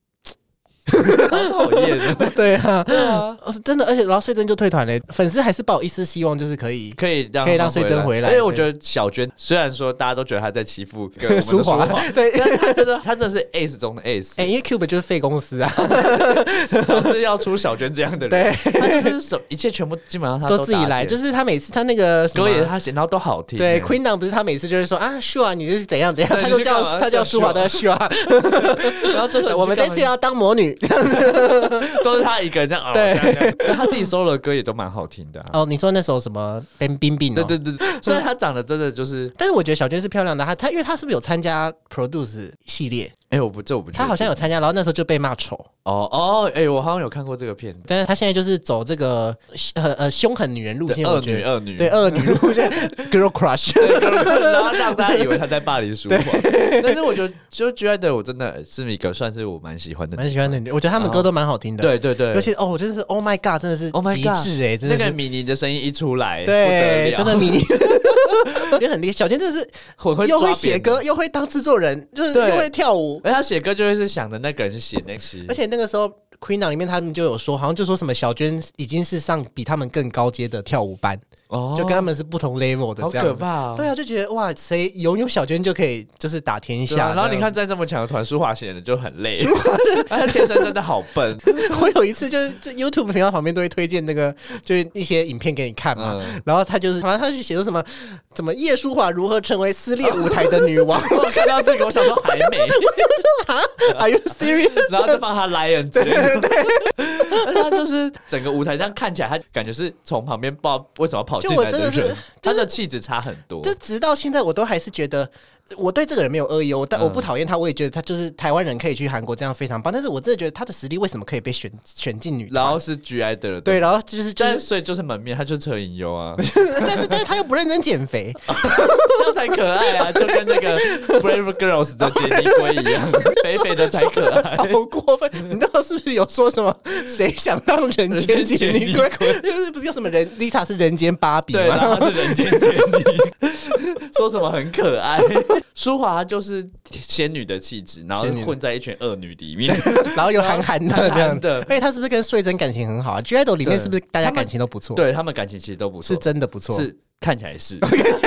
好讨厌的， 对啊，对啊，真的，而且然后穗珍就退团了，粉丝还是抱一丝希望，就是可以可以让可以让穗珍回来。 因为我觉得小娟虽然说大家都觉得她在欺负舒华， 对， 但她真的她真的是 ace 中的 ace， 哎、欸，因为 Cube 就是废公司啊， 就是要出小娟这样的人，对，她就是什一切全部基本上她都, 都自己来，就是她每次她那个歌也是她写，然后都好听。 对 ，Queen 档不是她每次就是说啊，Sure 你这是怎样怎样，她就叫她叫舒华的 Sure， 然后就是我们这次要当魔女这样子。 都是他一个人这样熬，对，他自己 solo 的歌也都蛮好听的、啊。 哦，你说那首什么冰冰冰？ 对对对，虽然他长得真的就是， 但是我觉得小娟是漂亮的。她她因为她是不是有参加 Produce 系列？ 哎、欸，我不这我不， 她好像有参加，然后那时候就被骂丑。 哦哦，哎、欸，我好像有看过这个片， 但是她现在就是走这个呃呃凶狠女人路线， 恶女恶女， 对恶女路线 ，Girl Crush， 然后让大家以为她在霸凌舒华。但是我觉得就 J I 的我真的是一个算是我蛮喜欢的， 蛮喜欢的。我觉得他们歌都蛮好听的， 对对对， 尤其哦，我真的是 Oh my God， 真的是极致哎、欸，真的是那个米妮的声音一出来， 对，真的米妮。也很厉害，小娟真的是又会写歌，又会当制作人，就是又会跳舞。 而他写歌就会是想着那个人写那些， 而且那个时候 Queen 档里面他们就有说，好像就说什么小娟已经是上比他们更高阶的跳舞班。哦、就跟他们是不同 level 的，这样好可怕、哦。 对啊，就觉得哇，谁拥有小娟就可以就是打天下。 啊、然后你看，在这么强的团，舒华显得就很累，他天生真的好笨。 我有一次就是 YouTube 频道旁边都会推荐那个，就是一些影片给你看嘛。嗯、然后他就是，好像他就写出什么，怎么叶舒华如何成为撕裂舞台的女王。 我看到这个，我想说还没。 我想说啊 ，Are you serious？ 然后就放他 Lion 之类的。对对对，他就是整个舞台这样看起来，他感觉是从旁边不知道为什么要跑。 就我真的是， 他的气质差很多。 就直到现在，我都还是觉得，我对这个人没有恶意，我但我不讨厌他，我也觉得他就是台湾人可以去韩国这样非常棒。但是我真的觉得他的实力为什么可以被选选进女团？ 然后是 G I 的， 对，然后就是就是， 所以就是门面，他就是车银优啊。 但是但是他又不认真减肥， 这样才可爱啊！就跟那个 Brave Girls 的杰尼龟一样，肥肥的才可爱。 好过分！你知道是不是有说什么？谁想当人间杰尼龟？就是不是有什么人 Lisa 是人间芭比吗？ 对，然后他是人间杰尼，说什么很可爱。舒华就是仙女的气质，然后混在一群恶女里面， 然后又憨憨的这样的。 而且他是不是跟穗珍感情很好啊 ？G IDOL 里面是不是大家感情都不错？ 对他们感情其实都不错， 是真的不错， 是看起来是。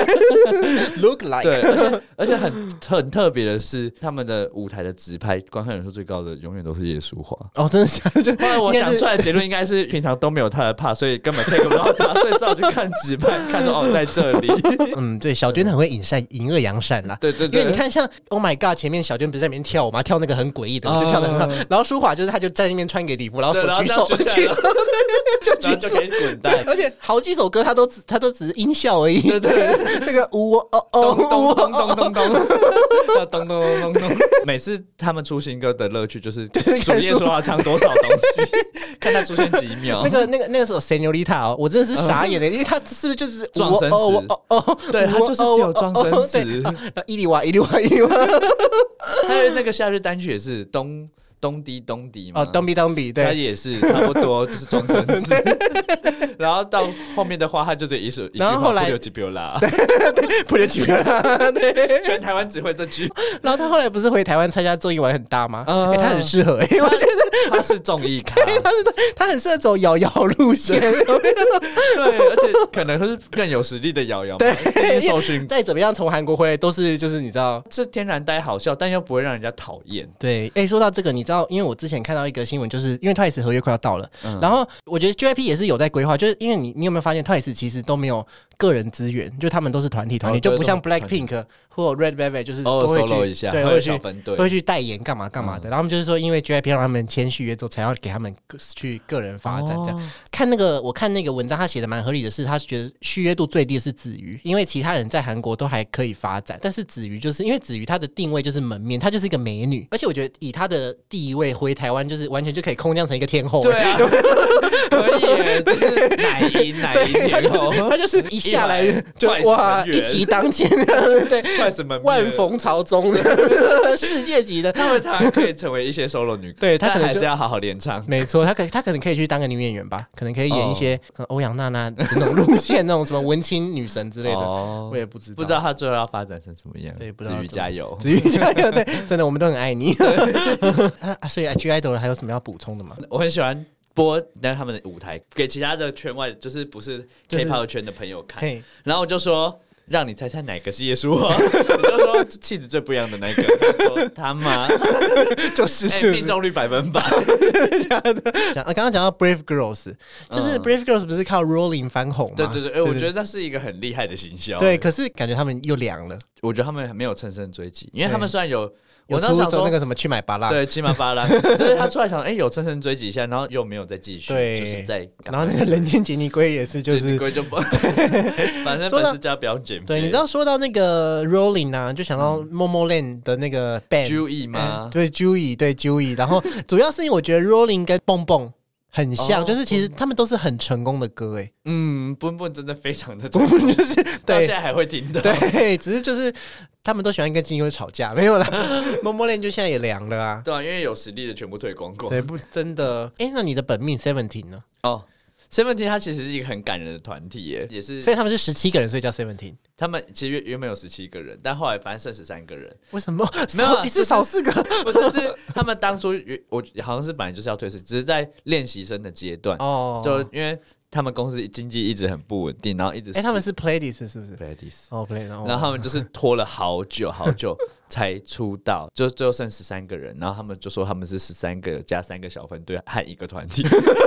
Look like 对，而且而且很很特别的是，他们的舞台的直拍观看人数最高的永远都是叶舒华。 哦，真的假的？ 后来我想出来的结论应该是平常都没有他的怕，所以根本 take 不到他，所以只好去看直拍，看到哦在这里。 嗯，对，小娟很会引善引恶扬善啦。 对对对， 因为你看像 Oh my God， 前面小娟不是在那边跳舞吗？跳那个很诡异的，我就跳得很好。然后舒华就是他就在那边穿给礼服，然后手举手举手，就举手可以滚蛋。 而且好几首歌他都只他都只是音效而已。对对对，那个呜哦哦咚咚咚咚咚咚咚咚咚咚。每次他们出新歌的乐趣就是数叶舒华唱多少东西，看他出现几秒。 那个那个那个时候 Señorita 哦，我真的是傻眼的，因为他是不是就是撞声词？哦哦，对，他就是只有撞声词。 伊里瓦伊里瓦伊里瓦， 还有那个夏日单曲也是东。东迪东迪嘛， 哦，东比东比，对， 他也是差不多，就是装声词。然后到后面的话，他就这一首， 然后后来不留几标啦， 不留几标啦，对， 全台湾只会这句。 然后他后来不是回台湾参加综艺玩很大吗？嗯，他很适合，我觉得他是综艺咖， 他是他很适合走瑶瑶路线，对， 而且可能是更有实力的瑶瑶，对，受训再怎么样从韩国回来都是就是你知道是天然呆好笑，但又不会让人家讨厌。 对，哎，说到这个你。因为我之前看到一个新闻，就是因为 Twice 合约快要到了，嗯、然后我觉得 J Y P 也是有在规划，就是因为你你有没有发现 Twice 其实都没有个人资源，就他们都是团体团体，哦、就不像 Blackpink 或 Red Velvet 就是都会去、 哦、一下， 对，会去会会去代言干嘛干嘛的。嗯、然后他们就是说，因为 J Y P 让他们签续约之后，才要给他们去个人发展这样。哦、看那个我看那个文章，他写的蛮合理的是，他觉得续约度最低的是子瑜，因为其他人在韩国都还可以发展，但是子瑜就是因为子瑜她的定位就是门面，她就是一个美女，而且我觉得以她的地位回台湾。就是完全就可以空降成一个天后， 对啊，可以耶，就是奶林乃林天后， 他就是一下来就哇一骑当前，对， 快什么万逢朝宗世界级的， 他们他可以成为一些 solo 女歌， 对他可能还是要好好练唱。 没错，他可他可能可以去当个女演员吧，可能可以演一些可能欧阳娜娜那种路线，那种什么文青女神之类的，我也不知道， 不知道他最后要发展成什么样。 对，不知道。 子瑜加油， 子瑜加油！对，真的我们都很爱你。啊，所以 G IDOL 还有什么要补充的吗？ 我很喜欢播那他们的舞台给其他的圈外，就是不是 K-pop 圈的朋友看，就是、然后我就說让你猜猜哪个是叶舒华，你就说气质最不一样的那个，他说他妈就是是命中率百分百。 刚刚讲到 Brave Girls， 就是 Brave Girls 不是靠 Rolling 翻红吗？ 对对对，欸、我觉得那是一个很厉害的行销。 对，可是感觉他们又凉了。 我觉得他们没有乘胜追击，因为他们虽然有。 我出走那个什么去买巴拉， 对，去买巴拉，就是他出来想，哎、欸，有乘胜追击一下，然后又没有再继续， 对， 就是在。 然后那个人间杰尼龟也是，就是杰尼龟就不，反正粉丝家不要减肥。 对，你知道说到那个 Rolling 啊，就想到 Momoland 的那个 band，Joey 吗？ 对 ，Joey， 对 Joey， 然后主要是因为我觉得 Rolling 跟蹦蹦。很像，哦、就是其实他们都是很成功的歌哎。 嗯，蹦蹦真的非常的成功， 就是到现在还会听的。 对，只是就是他们都喜欢跟金优吵架，没有啦。Momoland 就现在也凉了啊。 对啊，因为有实力的全部退光光。 对，不真的。哎、欸，那你的本命 Seventeen 呢？ 哦。Seventeen 它其实是一个很感人的团体耶，也是， 所以他们是十七个人，所以叫 Seventeen。 他们其实原本有十七个人，但后来反正剩十三个人。 为什么？ 没有， 一次少四个？ 不是，是他们当初我好像是本来就是要退市，只是在练习生的阶段哦，就因为他们公司经济一直很不稳定，然后一直哎、欸，他们是 Pledis 是不是 ？Pledis 哦 ，Play， 然后他们就是拖了好久好久才出道，就最后剩十三个人，然后他们就说他们是十三个加三个小分队和一个团体。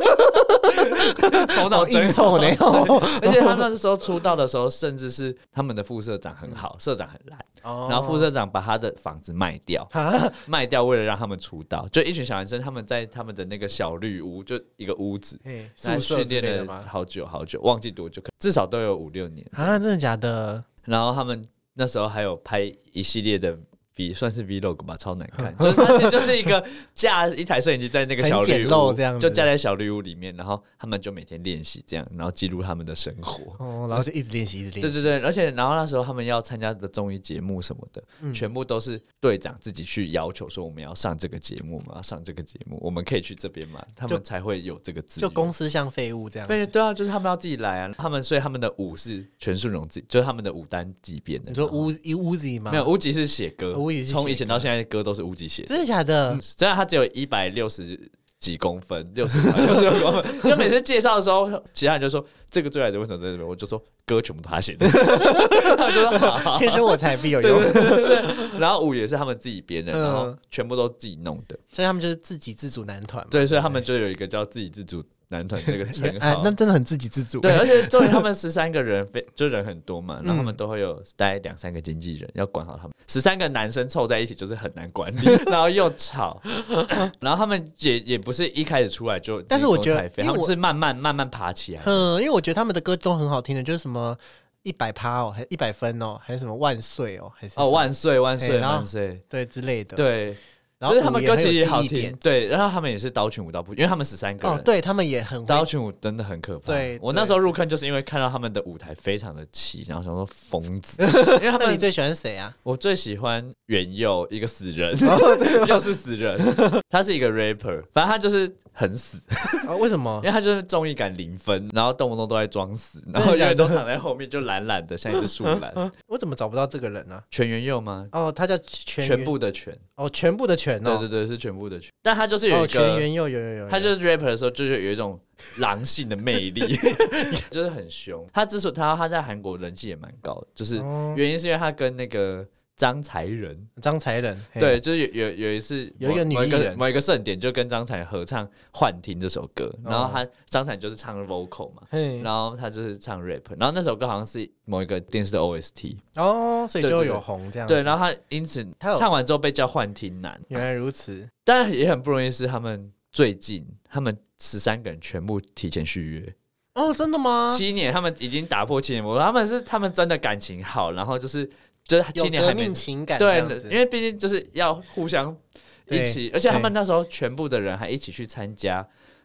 头脑真臭呢， 而且他们那时候出道的时候，甚至是他们的副社长很好，社长很烂，哦、然后副社长把他的房子卖掉，卖掉为了让他们出道，就一群小男生，他们在他们的那个小绿屋，就一个屋子， 宿舍训练了好久好久，忘记多久，至少都有五六年啊，真的假的？ 然后他们那时候还有拍一系列的。V 算是 Vlog 吧，超难看，就是它其实就是一个架一台摄影机在那个小绿屋， 这样就架在小绿屋里面，然后他们就每天练习这样，然后记录他们的生活， 哦，然后就一直练习，一直练习。 对对对，而且然后那时候他们要参加的综艺节目什么的，嗯、全部都是队长自己去要求说我们要上这个节目嘛，要上这个节目，我们可以去这边嘛，他们才会有这个资源。 就公司像废物这样。 对对啊，就是他们要自己来啊，他们所以他们的舞是全顺荣自己，就是他们的舞单自己编的。 你说乌乌吉吗？ 没有，乌吉是写歌，从以前到现在歌都是乌吉写的， 真的假的？ 嗯、虽然他只有一百六十几公分，六十六十六公分，就每次介绍的时候，其他人就说这个最爱的为什么在这边？我就说歌全部都他写的，他们就说好好， 天生我材必有用。 对对对对，然后舞也是他们自己编的，然后全部都自己弄的， 所以他们就是自给自足男团。 对，所以他们就有一个叫自给自足男团这个称号、 哎，那真的很自给自足。 对，而且重点他们十三个人，就人很多嘛，然后他们都会有大概两三个经纪人要管好他们。十三个男生凑在一起就是很难管理，然后又吵，然后他们也也不是一开始出来就， 但是我觉得他们是慢慢慢慢爬起来。 嗯，因为我觉得他们的歌都很好听的，就是什么一百趴哦，还一百分哦，还是什么万岁哦，还是哦万岁万岁万岁， 对之类的， 对。 然后就是他们歌其实也好听，对，然后他们也是刀群舞蹈部，因为他们十三个人， 哦，对他们也很刀群舞真的很可怕。 对， 我那时候入坑就是因为看到他们的舞台非常的齐，然后想说疯子。因为他们那你最喜欢谁啊？ 我最喜欢元佑，一个死人，又是死人，他是一个 rapper， 反正他就是很死。 哦，为什么？ 因为他就是综艺感零分，然后动不动都在装死，然后永远都躺在后面，就懒懒的，像一只树懒。 我怎么找不到这个人呢？ 全元佑吗？ 哦，他叫全全部的全。 哦，全部的全哦， 对对对，是全部的全。但他就是有一个、哦、 全元佑有有 有, 有， 他就是 rapper 的时候，就是有一种狼性的魅力，就是很凶。他之所以他他在韩国人气也蛮高的，就是原因是因为他跟那个张才仁， 张才仁对，就是有有有一次有一个女艺人某一个盛典，就跟张才合唱《幻听》这首歌，然后他张才就是唱 vocal 嘛，然后他就是唱 rap， 然后那首歌好像是某一个电视的 O S T 哦，所以就有红这样子。 对，然后他因此唱完之后被叫幻听男。 原来如此， 但也很不容易，是他们最近他们十三个人全部提前续约。 哦，真的吗？ 七年，他们已经打破七年魔咒，他们是他们真的感情好，然后就是就是七年还没有革命情感， 对，因为毕竟就是要互相一起，而且他们那时候全部的人还一起去参加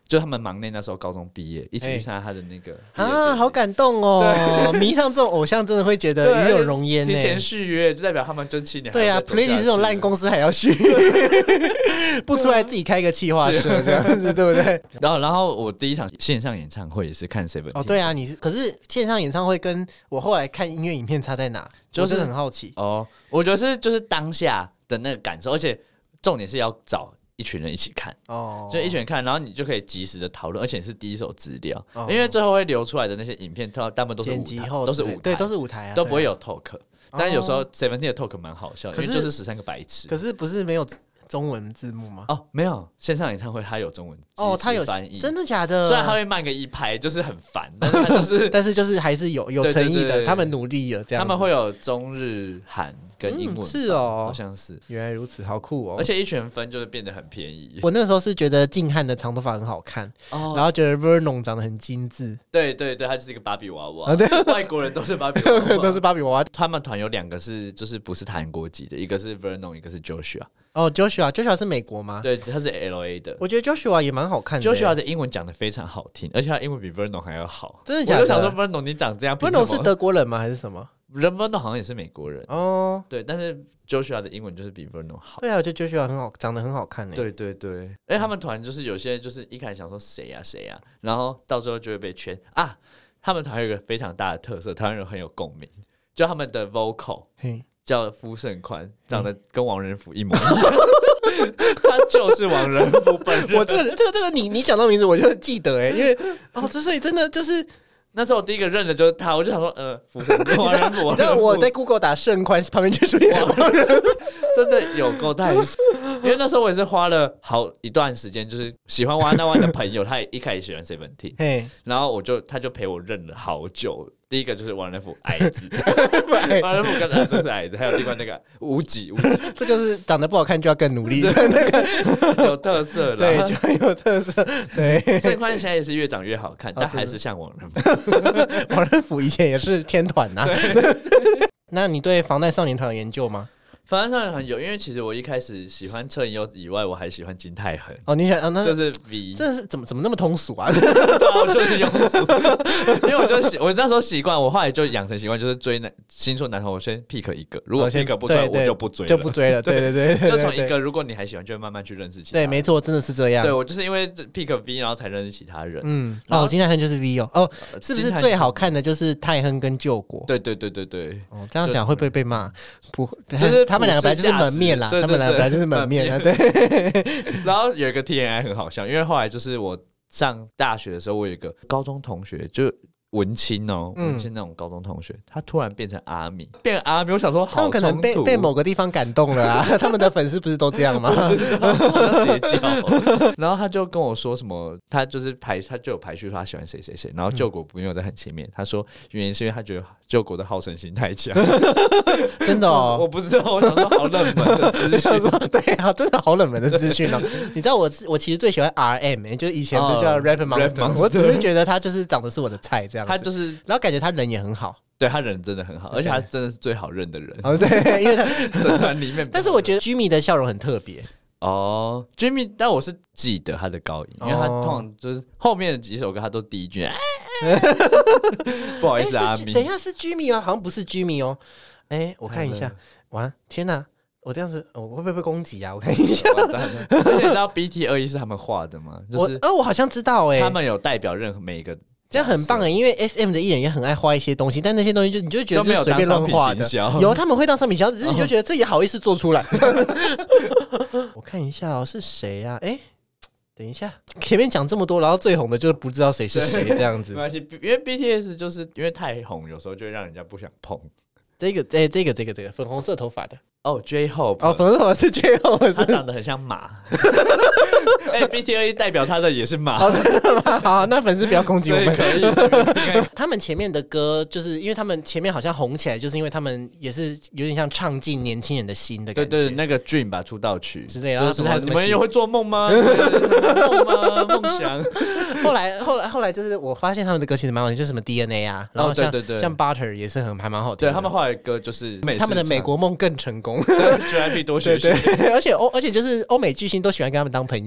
就他们忙内那时候高中毕业，一起去参加他的那个啊，好感动哦！迷上这种偶像，真的会觉得与有荣焉呢。 提前续约，就代表他们这七年对啊 ，Plenty 这种烂公司还要续，不出来自己开个企划社这样子，对不对？ 然后，然后我第一场线上演唱会也是看 Seventeen。 哦，对啊，你是可是线上演唱会跟我后来看音乐影片差在哪？就是很好奇哦。我觉得是就是当下的那个感受，而且重点是要找一群人一起看哦，就一群人看，然后你就可以及时的讨论，而且是第一手资料，哦、因为最后会流出来的那些影片，大部分都是舞台，都是舞台， 对，都是舞台啊， 都不会有 talk。但是有时候 Seventeen 的 talk 蛮好笑，因为就是十三个白痴。 可是不是没有中文字幕吗？ 哦，没有，线上演唱会它有中文哦，它有翻译， 真的假的？ 虽然它会慢个一拍，就是很烦，但是它就是但是就是还是有有诚意的，对对对对，他们努力了，这样他们会有中日韩跟英文、嗯， 是哦， 好像是， 原来如此，好酷哦！ 而且一群人分就是变得很便宜。 我那时候是觉得静汉的长头发很好看，哦、然后觉得 Vernon 长得很精致， 对对对，他就是一个芭比娃娃，啊、对，外国人都是芭比娃娃， 都是芭比娃娃。 他们团有两个是就是不是韩国籍的，一个是 Vernon， 一个是 Joshua。 哦 ，Joshua，Joshua 是美国吗？ 对，他是 L A 的。 我觉得 Joshua 也蛮好看的。 Joshua 的英文讲得非常好听，而且他英文比 Vernon 还要好。 真的假的？ 我就想说 Vernon 你长这样 ，Vernon 是德国人吗？还是什么？ 人 Vernon 好像也是美国人哦。对，但是 Joshua 的英文就是比 Vernon 好。 对啊，我觉得 Joshua 很好，长得很好看诶。 对对对，而且他们团就是有些就是一开始想说谁呀谁呀，然后到最后就会被圈啊。他们团有一个非常大的特色，台湾人很有共鸣，就他们的 vocal 叫夫胜宽，长得跟王仁甫一模一样。他就是王仁甫本人。 我这个这个这个你你讲到名字我就记得哎，因为哦，这所以真的就是那时候我第一个认的就是他，我就想说呃，福神王仁甫。 你知道我在 Google 打盛宽旁边就出现王仁甫， 真的有够太。因为那时候我也是花了好一段时间，就是喜欢One on One的朋友，他也一开始喜欢 Seventeen， 然后我就他就陪我认了好久。第一个就是王仁甫矮子，王仁甫跟他真是矮子，还有另外那个无极无极， 这就是长得不好看就要更努力的那个有特色了， 对，就很有特色。对， 盛宽现在也是越长越好看，但还是像王仁甫。 王仁甫以前也是天团呐。那你对防弹少年团有研究吗？ 防弹少年团有，因为其实我一开始喜欢车银优以外，我还喜欢金泰亨。 哦，你想、啊、那就是 V， 这是怎么怎么那么通俗啊？ 对啊，我就是庸俗，因为我就习我那时候习惯，我后来就养成习惯，就是追男新出男团，我先 pick 一个，如果 pick 不出来，我就不追了， 就不追了。对对对，对就从一个，如果你还喜欢，就会慢慢去认识其他人。 对，没错，真的是这样。 对我就是因为 pick V， 然后才认识其他人。 嗯，哦，金泰亨就是 V 哦，哦，是不是最好看的就是泰亨跟救国？ 对对对对对。 哦，这样讲会不会被骂？不，就是他们两个本来就是门面啦， 对对对， 他们两个本来就是门面啊。对。 然后有一个 T N I 很好笑，因为后来就是我上大学的时候，我有一个高中同学就。文青哦，文青那种高中同学，嗯、他突然变成阿米，变成阿米，我想说好， 他们可能被被某个地方感动了啊，他们的粉丝不是都这样吗？ 好像邪教。然后他就跟我说什么，他就是排，他就有排序说他喜欢谁谁谁，然后救国没有在很前面，他说原因是因为他觉得救国的好胜心太强。 真的哦， 我不知道，我想说好冷门的资讯， 对啊，真的好冷门的资讯哦。你知道我我其实最喜欢 R M，、欸、就是以前不是叫 Rap Monster，、uh, 我只是觉得他就是长得是我的菜这样。 他就是， 然后感觉他人也很好， 对他人真的很好，而且他真的是最好认的人。 哦，对，因为他整团里面， 但是我觉得 Jimmy 的笑容很特别。 哦 ，Jimmy， 但我是记得他的高音，因为他通常就是后面的几首歌他都第一句。不好意思， 欸、 阿咪， 等一下是 Jimmy 吗？好像不是 Jimmy 哦。哎、欸，我看一下，完，天哪！我这样子，我会不会被攻击啊？我看一下。 而且你知道 B T 二十一是他们画的吗？就是我，呃，我好像知道哎、欸。 他们有代表任何每一个。 这样很棒哎、欸，因为 S M 的艺人也很爱画一些东西，但那些东西就你就觉得是随便乱画的，有他们会当商品销，只是你就觉得这也好意思做出来。我看一下哦，是谁啊？哎、欸，等一下，前面讲这么多，然后最红的就是不知道谁是谁这样子。 没关系，因为 B T S 就是因为太红，有时候就会让人家不想碰。 这个，哎、欸，这个，这个，这个粉红色头发的。 哦 ，J-Hope， 哦，粉红色头发是 J-Hope， 他长得很像马。哎、欸、，B T 二十一代表他的也是马。 哦，真的吗？好，那粉丝不要攻击我们。 可以。 他们前面的歌，就是因为他们前面好像红起来，就是因为他们也是有点像唱进年轻人的心的感觉。 对对，那个 Dream 吧，出道曲之类的。 就是什么？你们也会做梦吗？梦吗？梦想。 后来，后来，后来就是我发现他们的歌其实蛮好听，就是什么 D N A 啊，然后像、哦、对对对像 Butter 也是很还蛮好听的。 对他们后来的歌就是他们的美国梦更成功。 J Y P 多学学。 对对，而且欧而且就是欧美巨星都喜欢跟他们当朋友。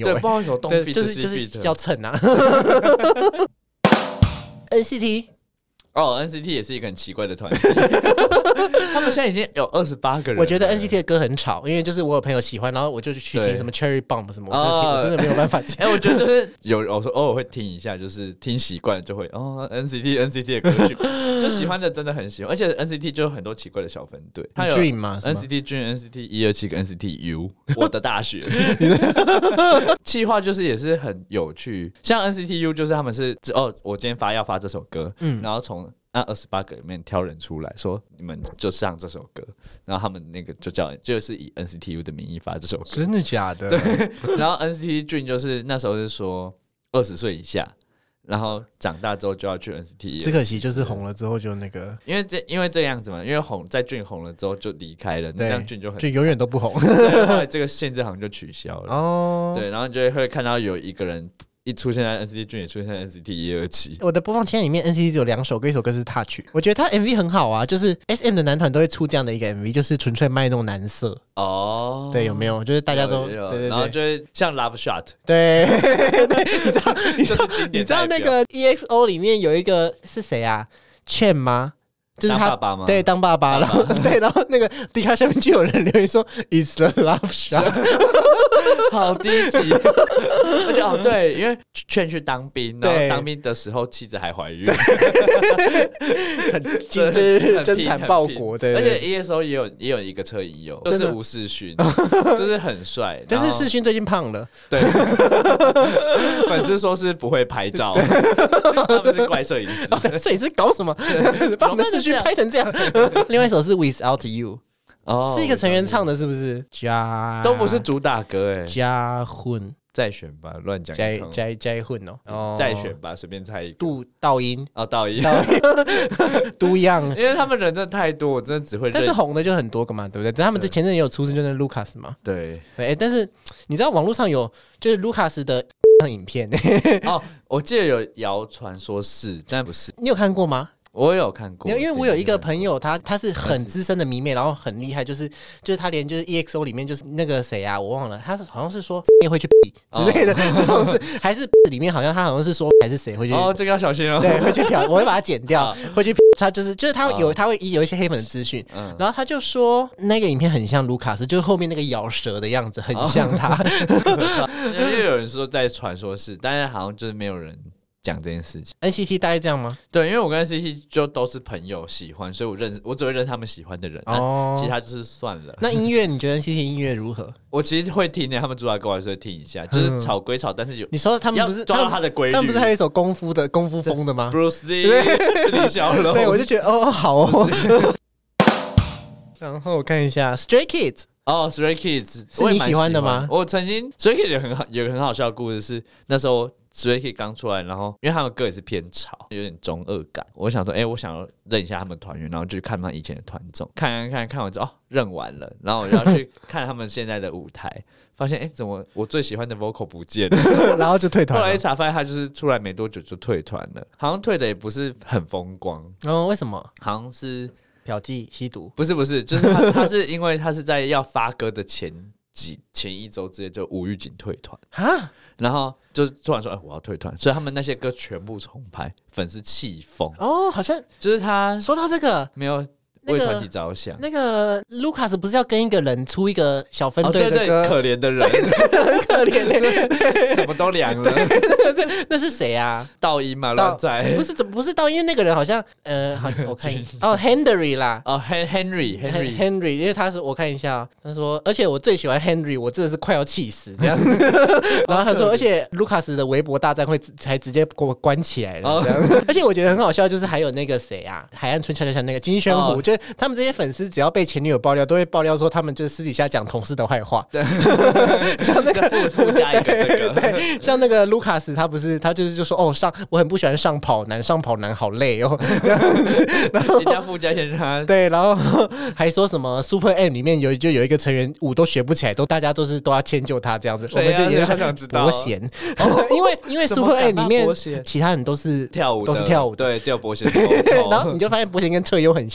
对， 欸， 不知道为什么动对， feet 就是 C 就是 feet 要蹭啊。N C T 哦 ，N C T 也是一个很奇怪的团体，他们现在已经有二十八个人了。 我觉得 N C T 的歌很吵，因为就是我有朋友喜欢，然后我就去听什么 Cherry Bomb 什么，我真的听、 哦、 我真的没有办法听。 哎、欸，我觉得就是有，我说偶尔会听一下，就是听习惯了就会哦 N C T N C T 的歌曲，就喜欢的真的很喜欢，而且 N C T 就有很多奇怪的小分队，它有 Dream 嘛 ，N C T Dream、N C T 一二七跟 N C T U， 我的大学，企划就是也是很有趣，像 N C T U 就是他们是哦，我今天发要发这首歌，嗯，然后从那二十八个里面挑人出来说，你们就上这首歌，然后他们那个就叫就是以 N C T U 的名义发这首歌， 真的假的？ 对，然后 N C T Dream 就是那时候是说二十岁以下，然后长大之后就要去 N C T。 只可惜就是红了之后就那个， 因为这因为这样子嘛，因为红在 Dream 红了之后就离开了，那样 Dream 就很就永远都不红。 对，后来这个限制好像就取消了。 哦， 对，然后你就会看到有一个人。一出现在 N C T Dream 也出现在 N C T 一二七。 我的播放清单里面 N C T 只有两首歌，一首歌是 Touch， 我觉得他 M V 很好啊，就是 S M 的男团都会出这样的一个 M V， 就是纯粹卖弄男色哦。对，有没有？就是大家都对对对， 然后就会像 Love Shot， 对，你知道你知道你知道那个 E X O 里面有一个是谁啊 ？Chen 吗？就是他当爸爸吗？ 对，当爸爸，然后对，然后那个迪卡下面就有人留言说 "It's the love shot"， 好低级。而且哦，对，因为劝去当兵，然后当兵的时候妻子还怀孕， 很真真真惨报国的。 而且 E S O 也有也有一个车衣哦，就是吴世勋，就是很帅。 但是世勋最近胖了， 对，粉丝说是不会拍照，他们是怪摄影师， 摄影师搞什么？把我们世勋拍成这样。另外一首是 Without You， 哦，是一个成员唱的，是不是？加都不是主打歌哎， 加混再选吧，乱讲。 加加加混哦， 再选吧，随便猜一个。 杜道音哦，道音， 都一样。 因为他们人真的太多，我真的只会。 但是红的就很多个嘛，对不对？他们这前阵也有出事，就是 Lucas 嘛。 对对，欸，但是你知道网络上有就是 Lucas 的影片哦，我记得有谣传说是，但不是。 你有看过吗？ 我有看过， 因为我有一个朋友，他他是很资深的迷妹，然后很厉害，就是就是他连就是 E X O 里面就是那个谁啊，我忘了，他是好像是说也会去比之类的，这种是还是里面好像他好像是说还是谁会去哦，这个要小心哦， 对，会去嫖，我会把它剪掉，会去他就是就是他有他会有一些黑粉的资讯，然后他就说那个影片很像卢卡斯，就是后面那个咬舌的样子很像他， 因为有人说在传说是，但是好像就是没有人讲这件事情。 N C T 大概这样吗？ 对，因为我跟 N C T 就都是朋友喜欢，所以我认我只会认他们喜欢的人，哦，其他就是算了。 那音乐你觉得 N C T 音乐如何？ 我其实会听的，他们主打歌我还是会听一下，就是吵归吵，但是有你说他们不是抓到他的规律， 他们不是还有一首功夫的功夫风的吗 ？Bruce Lee、李小龙， 对，我就觉得哦好哦。然后我看一下 Stray Kids。 哦、oh, ，Stray Kids 是你喜欢的吗？ 我曾经 Stray Kids 有很好有个很好笑的故事是，那时候 Stray Kids 刚出来，然后因为他们歌也是偏吵，有点中二感。我想说，哎、欸，我想要认一下他们团员，然后就去看他们以前的团综，看看看看完之后，哦，认完了，然后我要去看他们现在的舞台，发现哎、欸，怎么我最喜欢的 vocal 不见了， 然后就退团了。 后来一查发现他就是出来没多久就退团了，好像退的也不是很风光。 哦，为什么？ 好像是。 嫖妓吸毒不是不是，就是他他是因为他是在要发歌的前几前一周直接就无预警退团啊，然后就突然说哎、欸、我要退团，所以他们那些歌全部重拍，粉丝气疯哦，好像就是他说到这个没有为团体着想， 那个卢卡斯不是要跟一个人出一个小分队的歌， 哦、对对可怜的人， 很可怜的， 什么都凉了。 那是谁啊？ 道音嘛，乱在不是不是道音，因为那个人好像呃，好我看哦 ，Henry 啦， 哦 Henry Henry Henry， 因为他是我看一下，他说，而且我最喜欢 Henry， 我真的是快要气死这样。然后他说，而且卢卡斯的微博大战会才直接给我关起来了，这样。而且我觉得很好笑，就是还有那个谁啊，海岸村恰恰恰那个金宣虎，就他们这些粉丝只要被前女友爆料，都会爆料说他们就是私底下讲同事的坏话。像那个附附加一个这个， 对，像那个卢卡斯，他不是他就是就说哦上我很不喜欢上跑男，上跑男好累哦。 然后人家附加先让他对，然后还说什么 Super M 里面有就有一个成员舞都学不起来，都大家都是都要迁就他这样子，我们就也想想知道伯贤，因为因为 Super M 里面其他人都是跳舞都是跳舞， 对，只有伯贤。 然后你就发现伯贤跟彻优很像，就是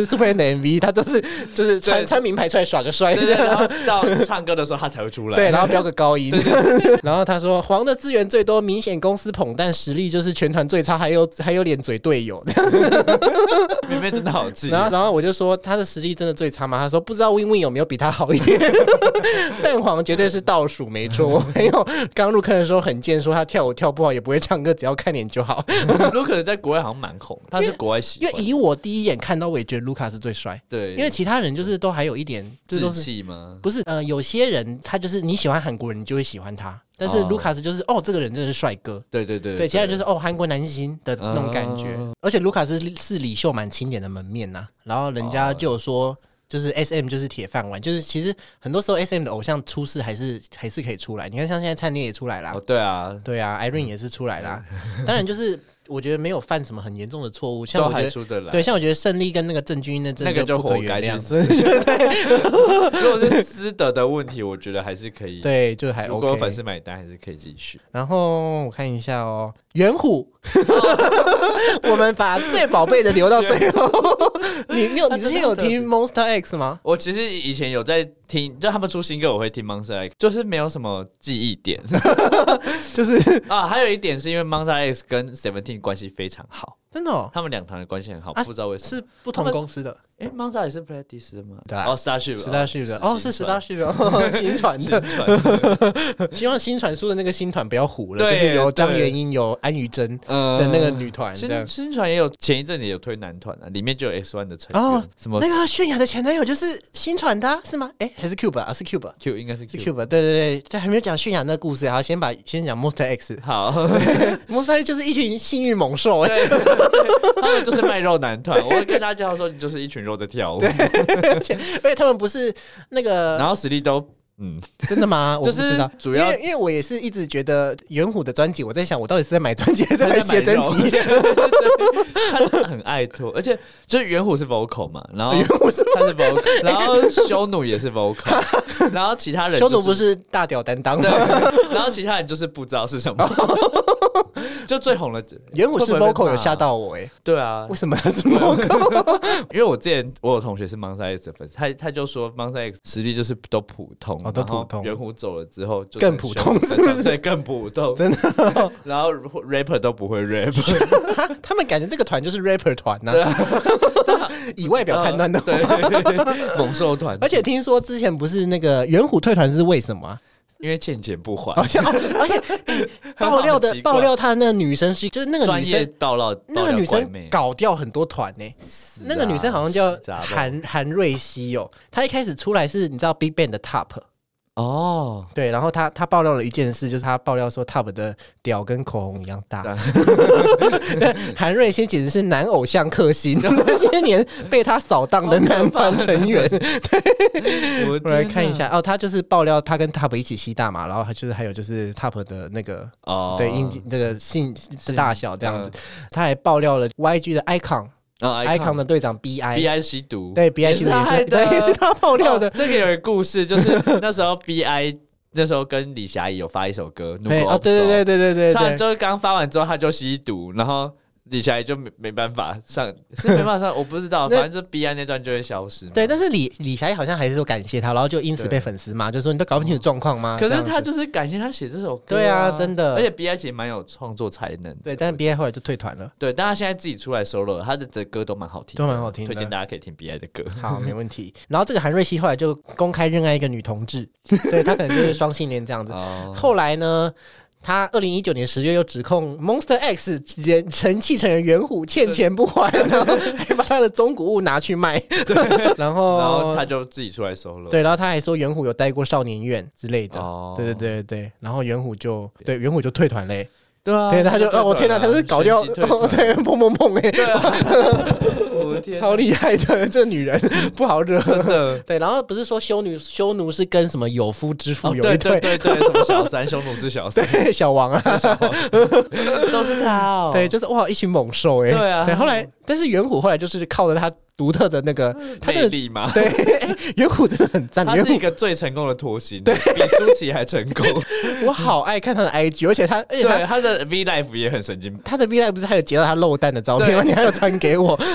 Superman 的 M V， 他都是就是穿穿名牌出来耍个帅， 对对对，然后到唱歌的时候他才会出来， 对，然后飙个高音。对对对然后他说黄的资源最多，明显公司捧，但实力就是全团最差，还有还有脸嘴队友。 明明真的好气。 然后然后我就说他的实力真的最差吗？他说不知道 Win Win 有没有比他好一点。蛋黄绝对是倒数没错。还有刚入坑的时候很贱，说他跳舞跳不好也不会唱歌，只要看脸就好。 卢卡在国外好像蛮红，他是国外喜欢， 因为以我第一眼看到，我也觉得卢卡是最帅。 对， 因为其他人就是都还有一点志气吗？ 不是，呃，有些人他就是你喜欢韩国人，你就会喜欢他。但是卢卡斯就是哦，这个人真的是帅哥， 对对对， 对，其他人就是哦，韩国男星的那种感觉。而且卢卡斯是李秀满钦点的门面呐、啊，然后人家就有说。就是 S M 就是铁饭碗，就是其实很多时候 S M 的偶像出事还是还是可以出来。你看像现在灿烈也出来啦， 哦对啊， 对啊 ，Irene 也是出来啦。当然就是我觉得没有犯什么很严重的错误，像我觉得对，像我觉得胜利跟那个郑钧那真的就不可原谅。 如果是私德的问题，我觉得还是可以， 对，就还 OK。 如果粉丝买单，还是可以继续。 然后我看一下哦，元虎，我们把最宝贝的留到最后。你你有你之前有听 Monster X 吗？ 我其实以前有在听，就他们出新歌我会听 Monster X， 就是没有什么记忆点。就是啊，还有一点是因为 Monster X 跟 Seventeen 关系非常好， 真的、哦， 他们两团的关系很好， 啊、 不知道为什么是不同公司的。 哎 ，Monster 也是 Pledis 的吗？ 对、啊， 哦 ，Starship，Starship 的，哦，是 Starship 的，新传的。希望新传出的那个新团不要糊了，就是有张元英、有安于真的那个女团。 新新传也有前一阵子也有推男团啊，里面就有 X One 的成员。哦，什么那个泫雅的前男友就是新传的、啊，是吗？哎，还是 Cube 啊？是 Cube，Cube 应该是 Cube。对对对，在还没有讲泫雅那个故事，好，先把先讲 Monster X。 好 ，Monster X 就是一群性欲猛兽， 对，他们就是卖肉男团。我会跟大家说，你就是一群肉在跳舞。 而且而且他们不是那个， 然后实力都嗯， 真的吗？我不知道， 主要因为因为我也是一直觉得元虎的专辑，我在想我到底是在买专辑还是在买写真集？ 他很爱拖，而且就是元虎是 vocal 嘛，然后元虎是他是 vocal， 然后修努也是 vocal， 然后其他人、就是、 修努不是大屌担当， 对，然后其他人就是不知道是什么。就最红的元虎是 vocal 有吓到我哎、欸， 对啊， 为什么他是 vocal？ 因为我之前我有同学是 Monster X 的粉丝，他他就说 Monster X 实力就是都普通， 哦，都普通。 元虎走了之后就更普通，是不是？ 对，更普通，真的。然后 rapper 都不会 rap， 他们感觉这个团就是 rapper 团呐、啊。以外表判断的话， 对，猛兽团。 而且听说之前不是那个元虎退团是为什么、啊？ 因为欠钱不还， 而且、哦、而且爆料的爆料，他那个女生是就是那个女生爆料， 那个女生搞掉很多团呢、欸。那个女生好像叫韩韩瑞希哦，她一开始出来是你知道 Big Bang 的 Top 哦， 对，然后她她爆料了一件事，就是她爆料说 Top 的屌跟口红一样大。韩瑞希简直是男偶像克星，那些年被他扫荡的男团成员。对，我来看一下哦，他就是爆料他跟 Top 一起吸大麻，然后他就是还有就是 Top 的那个哦，对阴这个性的大小这样子，他还爆料了 Y G 的 Icon。哦、Icon 的队长 B I，B I 吸毒， 对 B I 吸毒也是，对，也是他爆料的。 哦、这个有一个故事，就是那时候 B I 那时候跟李霞怡有发一首歌， 对，哦，对对对对对对， 唱完之后刚发完之后他就吸毒，然后李霞怡就没没办法上，是没办法上，我不知道，反正就 B I 那段就会消失。 对，但是李李霞怡好像还是说感谢他，然后就因此被粉丝骂，就说你都搞不清楚状况吗？ 可是他就是感谢他写这首歌、啊， 对啊，真的。 而且 B I 其实蛮有创作才能， 对，但是 B I 后来就退团了。 对，但他现在自己出来 solo， 他的歌都蛮好听， 都蛮好听的， 推荐大家可以听 B I 的歌。 好，没问题。然后这个韩瑞希后来就公开认爱一个女同志，所以他可能就是双性恋这样子。哦、后来呢？他二零一九年十月又指控 Monster X 人气成员元虎欠钱不还，然后还把他的中古物拿去卖，然后然后他就自己出来收了。 对，然后他还说元虎有待过少年院之类的。哦，对对对对，然后元虎就对元虎就退团嘞。 对啊， 对，他就哦，我天哪，他是搞掉哦，对，砰砰砰哎，对啊，我的天，超厉害的，这女人不好惹， 真的。 对，然后不是说修女修奴是跟什么有夫之妇有一对， 对对对，什么小三，修奴是小三， 对，小王啊， 小王都是他哦， 对，就是哇，一群猛兽哎， 对啊， 对，后来但是元虎后来就是靠着他独特的那个他的魅力嘛， 对，元虎真的很赞， 他是一个最成功的脱星，对，比舒淇还成功。 我好爱看他的 I G， 而且他，而且他对他的 V Live 也很神经， 他的 V Live 不是还有截到他漏蛋的照片吗？你还有传给我， 新闻鸭的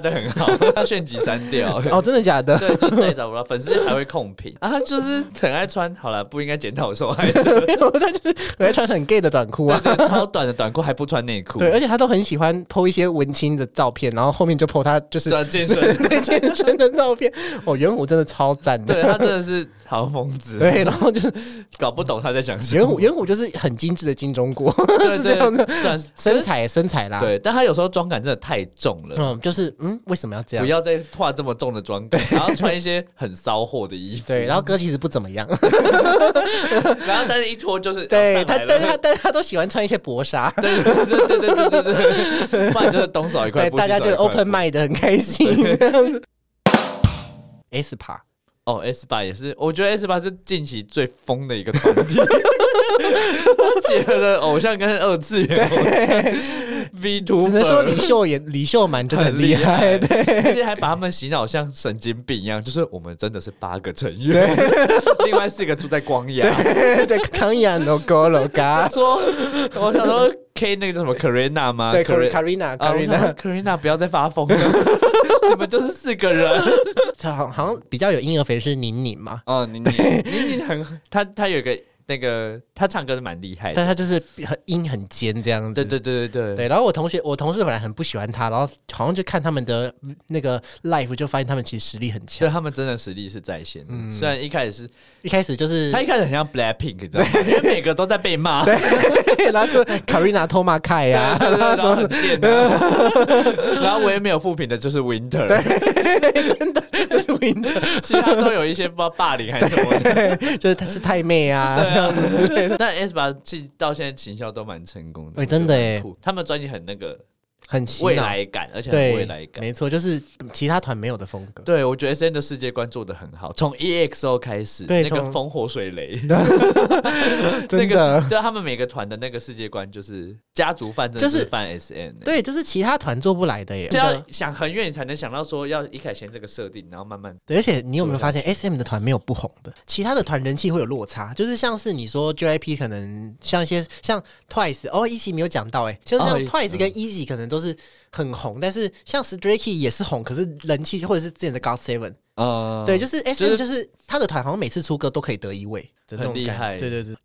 的很好，他炫集删掉。 哦，真的假的？ 对，就再也找不到，粉丝还会控评啊。他就是很爱穿，好了，不应该检讨受害者。 没有，他就是很爱穿很 gay 的短裤啊， 对对，超短的短裤还不穿内裤。 对，而且他都很喜欢 po 一些文青的照片，然后后面就 po 他就是转健身对健身的照片。哦，元虎真的超赞的， 对他真的是好疯子。 对，然后就是搞不懂他在想什么。 元虎元虎就是很精致的金钟国， 对是这样的， 算身材身材啦。 对，但他有时候妆感真的太重了。 嗯，就是嗯，为什么要这样？ 不要再画这么重的妆感，然后穿一些很骚货的衣服。 对，然后歌其实不怎么样， 然后但是一脱就是对他，但是他他但是他都喜欢穿一些薄纱， 对对对对对对对对，不然就是东少一块， 对，大家就 open mind 的很开心这样子。S 趴哦 ，S 八也是，我觉得 S 八是近期最疯的一个团体，结合了偶像跟二次元偶像 V 图， 只能说李秀妍、李秀满真的很厉害，对， 而且还把他们洗脑像神经病一样，就是我们真的是八个成员，另外四个住在光亚， 对，康亚 no go no ga， 说我想说 K 那个叫什么 Karina 吗？ 对 ，Karina，Karina，Karina， Karina 不要再发疯了，你们就是四个人。 他好好像比较有婴儿肥是宁宁嘛， 哦，宁宁，宁宁很，他他有一个那个，他唱歌是蛮厉害的， 但他就是很音很尖这样子。 对对对对对对。然后我同学，我同事本来很不喜欢他，然后好像就看他们的那个 live， 就发现他们其实实力很强。 对，他们真的实力是在线的。嗯、虽然一开始是一开始就是他一开始很像 Blackpink， 你知道吗？因为每个都在被骂。 对，然后就 Karina 偷骂凯呀， 然后很贱、啊。然后唯一没有负评的就是 Winter， 真的就是 Winter， 其他都有一些不知道霸凌还是什么的， 就是他是太妹啊这样子。 但 S 八到现在行销都蛮成功的， 哎、欸，真的哎， 他们专辑很那个。 很未来感，而且很未来感， 没错，就是其他团没有的风格。 对，我觉得 S N 的世界观做得很好，从 E X O 开始， 对， 那个风火水雷， 真的， 对，他们每个团的那个世界观就是家族范，就是范 S N， 对，就是其他团做不来的耶。 就要想很远，你才能想到说要一开始先这个设定，然后慢慢。 对，而且你有没有发现 S M 的团没有不红的，其他的团人气会有落差，就是像是你说 J Y P 可能像一些像 Twice， 哦 ，Easy 没有讲到哎，就是像 Twice 跟 Easy 可能都是很红，但是像 Stray Kids 也是红，可是人气或者是之前的 God Seven， 呃，对，就是 S M 就是他的团好像每次出歌都可以得一位， 很厉害。 对对对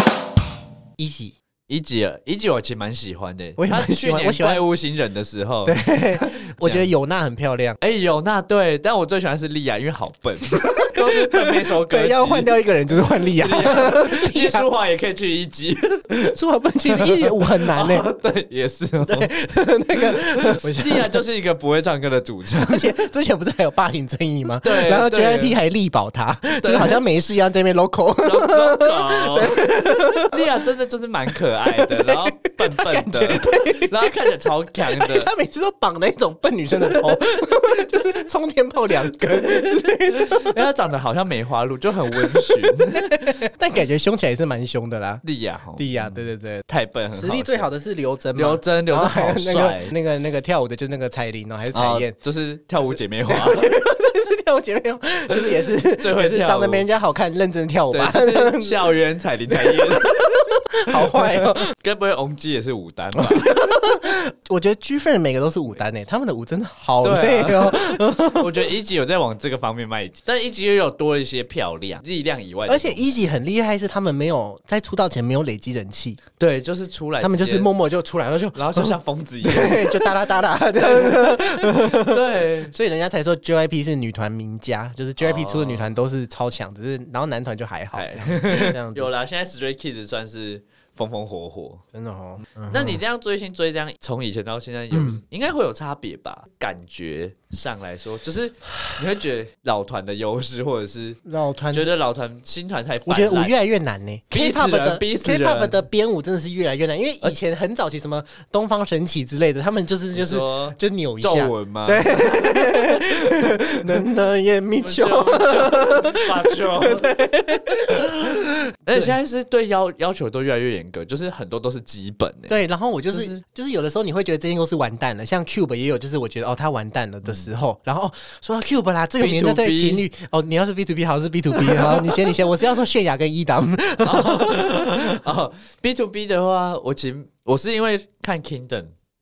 ，Easy。 一集一集我其实蛮喜欢的， 我也蛮喜欢。 我喜欢怪物新人的时候， 对，我觉得有娜很漂亮。 哎、欸，有娜对，但我最喜欢是莉亚，因为好笨，都是笨那首歌。 对，要换掉一个人就是换莉亚。 叶舒华也可以去一集， 舒华不能去一集，我很难呢、欸哦。对，也是、哦。 对，那个莉亚就是一个不会唱歌的主唱， 而且之前不是还有霸凌争议吗？ 对， 然后 J Y P 还力保他，就是好像没事一样在那边 local。 莉亚真的就是蛮可爱的，然后笨笨的，然后看起来超强的。 他每次都绑那种笨女生的头，就是冲天炮两根之类的。 因为她长得好像梅花鹿，就很温驯， 但感觉凶起来也是蛮凶的啦。 莉亚， 莉亚，对对对， 太笨，很实力最好的是刘真， 刘真，刘真好帅。 那个那个那个跳舞的就是那个彩铃哦，还是彩燕， 就是跳舞姐妹花。 是跳舞姐妹花，就是也是最会跳舞， 长得没人家好看，认真跳舞吧。 就是校园彩铃彩燕。 好坏哦， 该不会翁基也是舞担吧？ 我觉得 G Friend 每个都是舞担诶，他们的舞真的好累哦。 啊、我觉得一级有在往这个方面迈进，但一级又有多了一些漂亮力量以外的， 而且一级很厉害，是他们没有在出道前没有累积人气， 对，就是出来， 他们就是默默就出来了，就然后就像疯子一样， 对，就哒啦哒啦这样，对， 所以人家才说 J Y P 是女团名家，就是 J Y P 出的女团都是超强，只是然后男团就还好这样子。 有啦，现在 Stray Kids 算是风风火火， 真的哦。 嗯、那你这样追星追这样，从以前到现在有、嗯、应该会有差别吧？感觉上来说，就是你会觉得老团的优势，或者是老团觉得老团新团太， 我觉得舞越来越难呢、欸。K-pop 的 K-pop 的编舞真的是越来越难，因为以前很早期什么东方神起之类的，他们就是就是就扭一下皱纹吗？ 对，能能也米球， 发球，而且现在是对要要求都越来越严格，就是很多都是基本的、欸。 对，然后我就是、就是、就是有的时候你会觉得这间公司完蛋了，像 Cube 也有，就是我觉得哦他完蛋了的时候，嗯、然后、哦、说到 Cube 啦，最有名的对情侣哦，你要是 B to B 好是 B to B 好，你先你先，我是要说泫雅跟一档。 哦, 哦 ，B to B 的话，我其实我是因为看 Kingdom。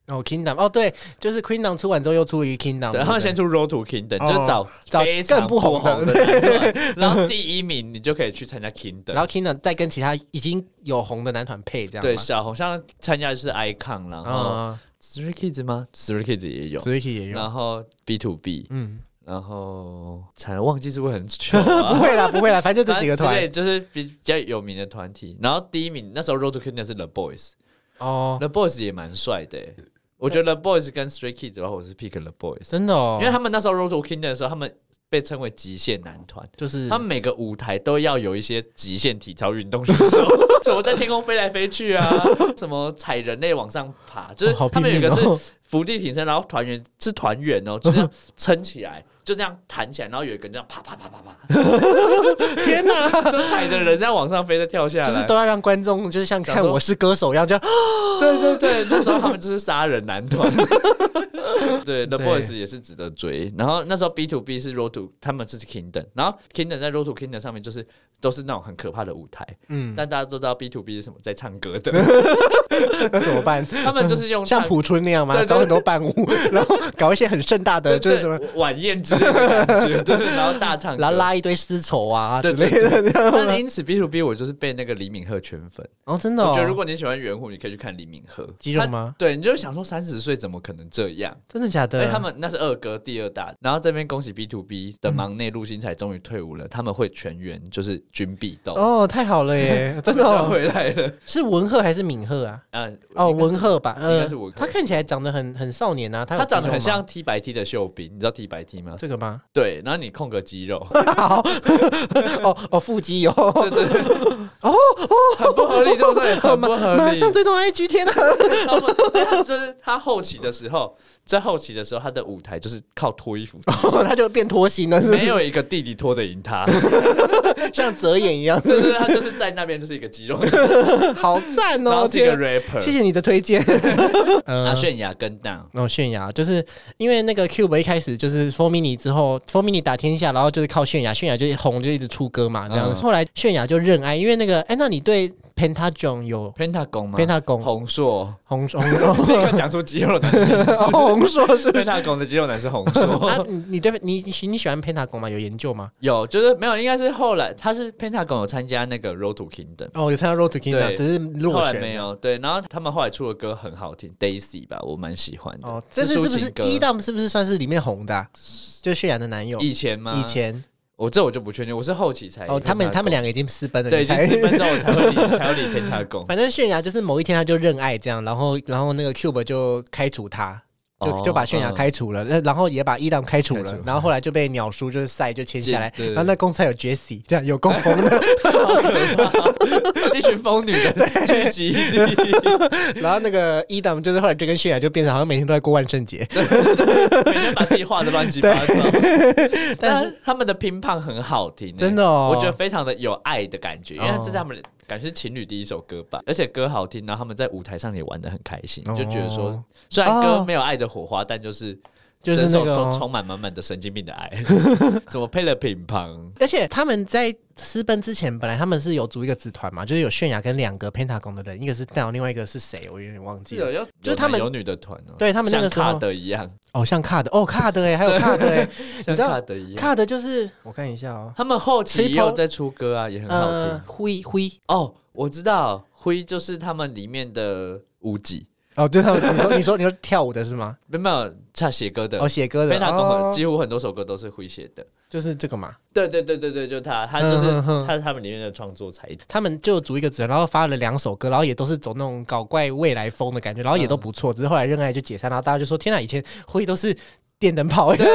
哦 Kingdom 哦对，就是 Kingdom 出完之后又出一个 Kingdom， 对，他们先出 Road to Kingdom，、哦、就找找更不红的男团，然后第一名你就可以去参加 Kingdom， 然后 Kingdom 再跟其他已经有红的男团配这样。 对，小红像参加的是 Icon， 然后 Stray Kids 吗 ？Stray Kids 也有 ，Stray Kids 也有， 然后 B to B， 嗯。然后惨了，忘记是不是很久、 啊？不会啦，不会啦，反正就这几个团， 就是比较有名的团体。然后第一名那时候 Road to Kingdom 是 The Boys， 哦 ，The Boys 也蛮帅的。我觉得 The Boys 跟 Stray Kids 的话，我是 pick The Boys， 真的哦， 因为他们那时候 Road to Kingdom 的时候，他们被称为极限男团， 就是他们每个舞台都要有一些极限体操运动选手，什么在天空飞来飞去啊，什么踩人类往上爬，就是他们有一个是伏地挺身，然后团员是团员哦，就这样撑起来。就这样弹起来，然后有一个人这样啪啪啪啪啪， 天哪！ 就踩着人这样往上飞，再跳下来， 就是都要让观众就是像看我是歌手一样，这样。 对对对，那时候他们就是杀人男团。对 ，The Boys 也是值得追。然后那时候 B to B 是 Road to， 他们是 Kingdom， 然后 Kingdom 在 Road to Kingdom 上面就是都是那种很可怕的舞台。嗯，但大家都知道 B to B 是什么，在唱歌的。 那怎么办？ 他们就是用像朴春那样吗？找很多伴舞，然后搞一些很盛大的，就是什么晚宴之类的感觉，对，然后大唱歌， 然后拉一堆丝绸啊之类的。 但因此 B to B 我就是被那个李敏镉圈粉哦，真的、哦。 我觉得如果你喜欢圆弧，你可以去看李敏镉。 肌肉吗？ 对，你就想说三十岁怎么可能这样？ 真的假的？ 因为他们那是二哥第二大，然后这边恭喜 B to B 的忙内陆星彩终于退伍了，嗯、他们会全员就是军必斗。 哦，太好了耶！真的、哦、 回来了。 是文赫还是敏赫啊？啊哦，文赫吧，应该是文赫。他看起来长得很很少年啊，他他长得很像 T 白 T 的秀彬，你知道 T 白 T 吗？ 这个吗？ 对，然后你控个肌肉， 好，哦哦，腹肌有，对对对，哦哦， 很不合理，对不对？很不合理。 马上追踪 I G， 天哪！ 他们他就是他后期的时候，在后期的时候，他的舞台就是靠脱衣服， 哦、他就变脱星了是不是， 没有一个弟弟脱得赢他， 像泽演一样， 是不是？他就是在那边就是一个肌肉， 好赞哦！ 然后是一个 rapper， 谢谢你的推荐。 啊，泫雅跟 down， 哦，泫雅就是因为那个 Cube 一开始就是 Four Mini 之后 ，Four Mini 打天下，然后就是靠泫雅，泫雅就红就一直出歌嘛，这样子。嗯、后来泫雅就认爱，因为那个，哎，那你对 Pentagon 有 Pentagon 吗 ？Pentagon 红硕， 红硕， 立刻讲出肌肉男的名字。 红硕是 Pentagon 的肌肉男是红硕。 啊，你对你你喜欢 Pentagon 吗？有研究吗？ 有，就是没有，应该是后来他是 Pentagon 有参加那个 Road to Kingdom， 哦，有参加 Road to Kingdom， 只是落选， 后来没有。对，然后他们后来出的歌很好听 ，Daisy 吧，我蛮喜欢的。哦， 这是是不是一档是不是算是里面红的、啊？就泫雅的男友？ 以前吗？ 以前。 我这我就不确定，我是后期才哦，他们他们两个已经私奔了， 对，已经私奔之后我才会理才会理偏他攻。 反正泫雅就是某一天他就认爱这样，然后然后那个 Cube 就开除他，就、哦、就把泫雅开除了，嗯、然后也把一档开除了，然后后来就被鸟叔就是赛就签下来，然后那公司还有 Jessie 这样有够疯的， 好可怕，一群疯女的聚集地。 然后那个一档就是后来就跟泫雅就变成好像每天都在过万圣节， 每天把自己画的乱七八糟。但是他们的乒乓很好听、欸， 真的哦， 我觉得非常的有爱的感觉，因为这是他们感觉是情侣第一首歌吧，而且歌好听，然后他们在舞台上也玩得很开心，哦、就觉得说虽然歌没有爱的火花，但就是就是那个充满满满的神经病的爱，什么配了乒乓， 而且他们在私奔之前，本来他们是有组一个子团嘛，就是有泫雅跟两个 Pentagon 的人，一个是 down， 另外一个是谁，我有点忘记了， 有就是他们有女的团、哦， 对他们那个时候像卡德一样， 哦，像卡德，哦，卡德哎，还有卡德哎， 像卡德一样， 卡德就是我看一下哦， 他们后期也有在出歌啊，也很好听， 呃、灰灰哦，我知道灰就是他们里面的舞伎。 哦，对他们，你说你说你说跳舞的是吗？ 没有，他写歌的。 哦，写歌的。 Pentagon几乎很多首歌都是会写的， 就是这个嘛。 对对对对对，就他，他就是、嗯、哼哼他是他们里面的创作才。 他们就组一个组，然后发了两首歌，然后也都是走那种搞怪未来风的感觉，然后也都不错。嗯、只是后来认爱就解散，然后大家就说：“天哪，以前会都是。”电灯泡，对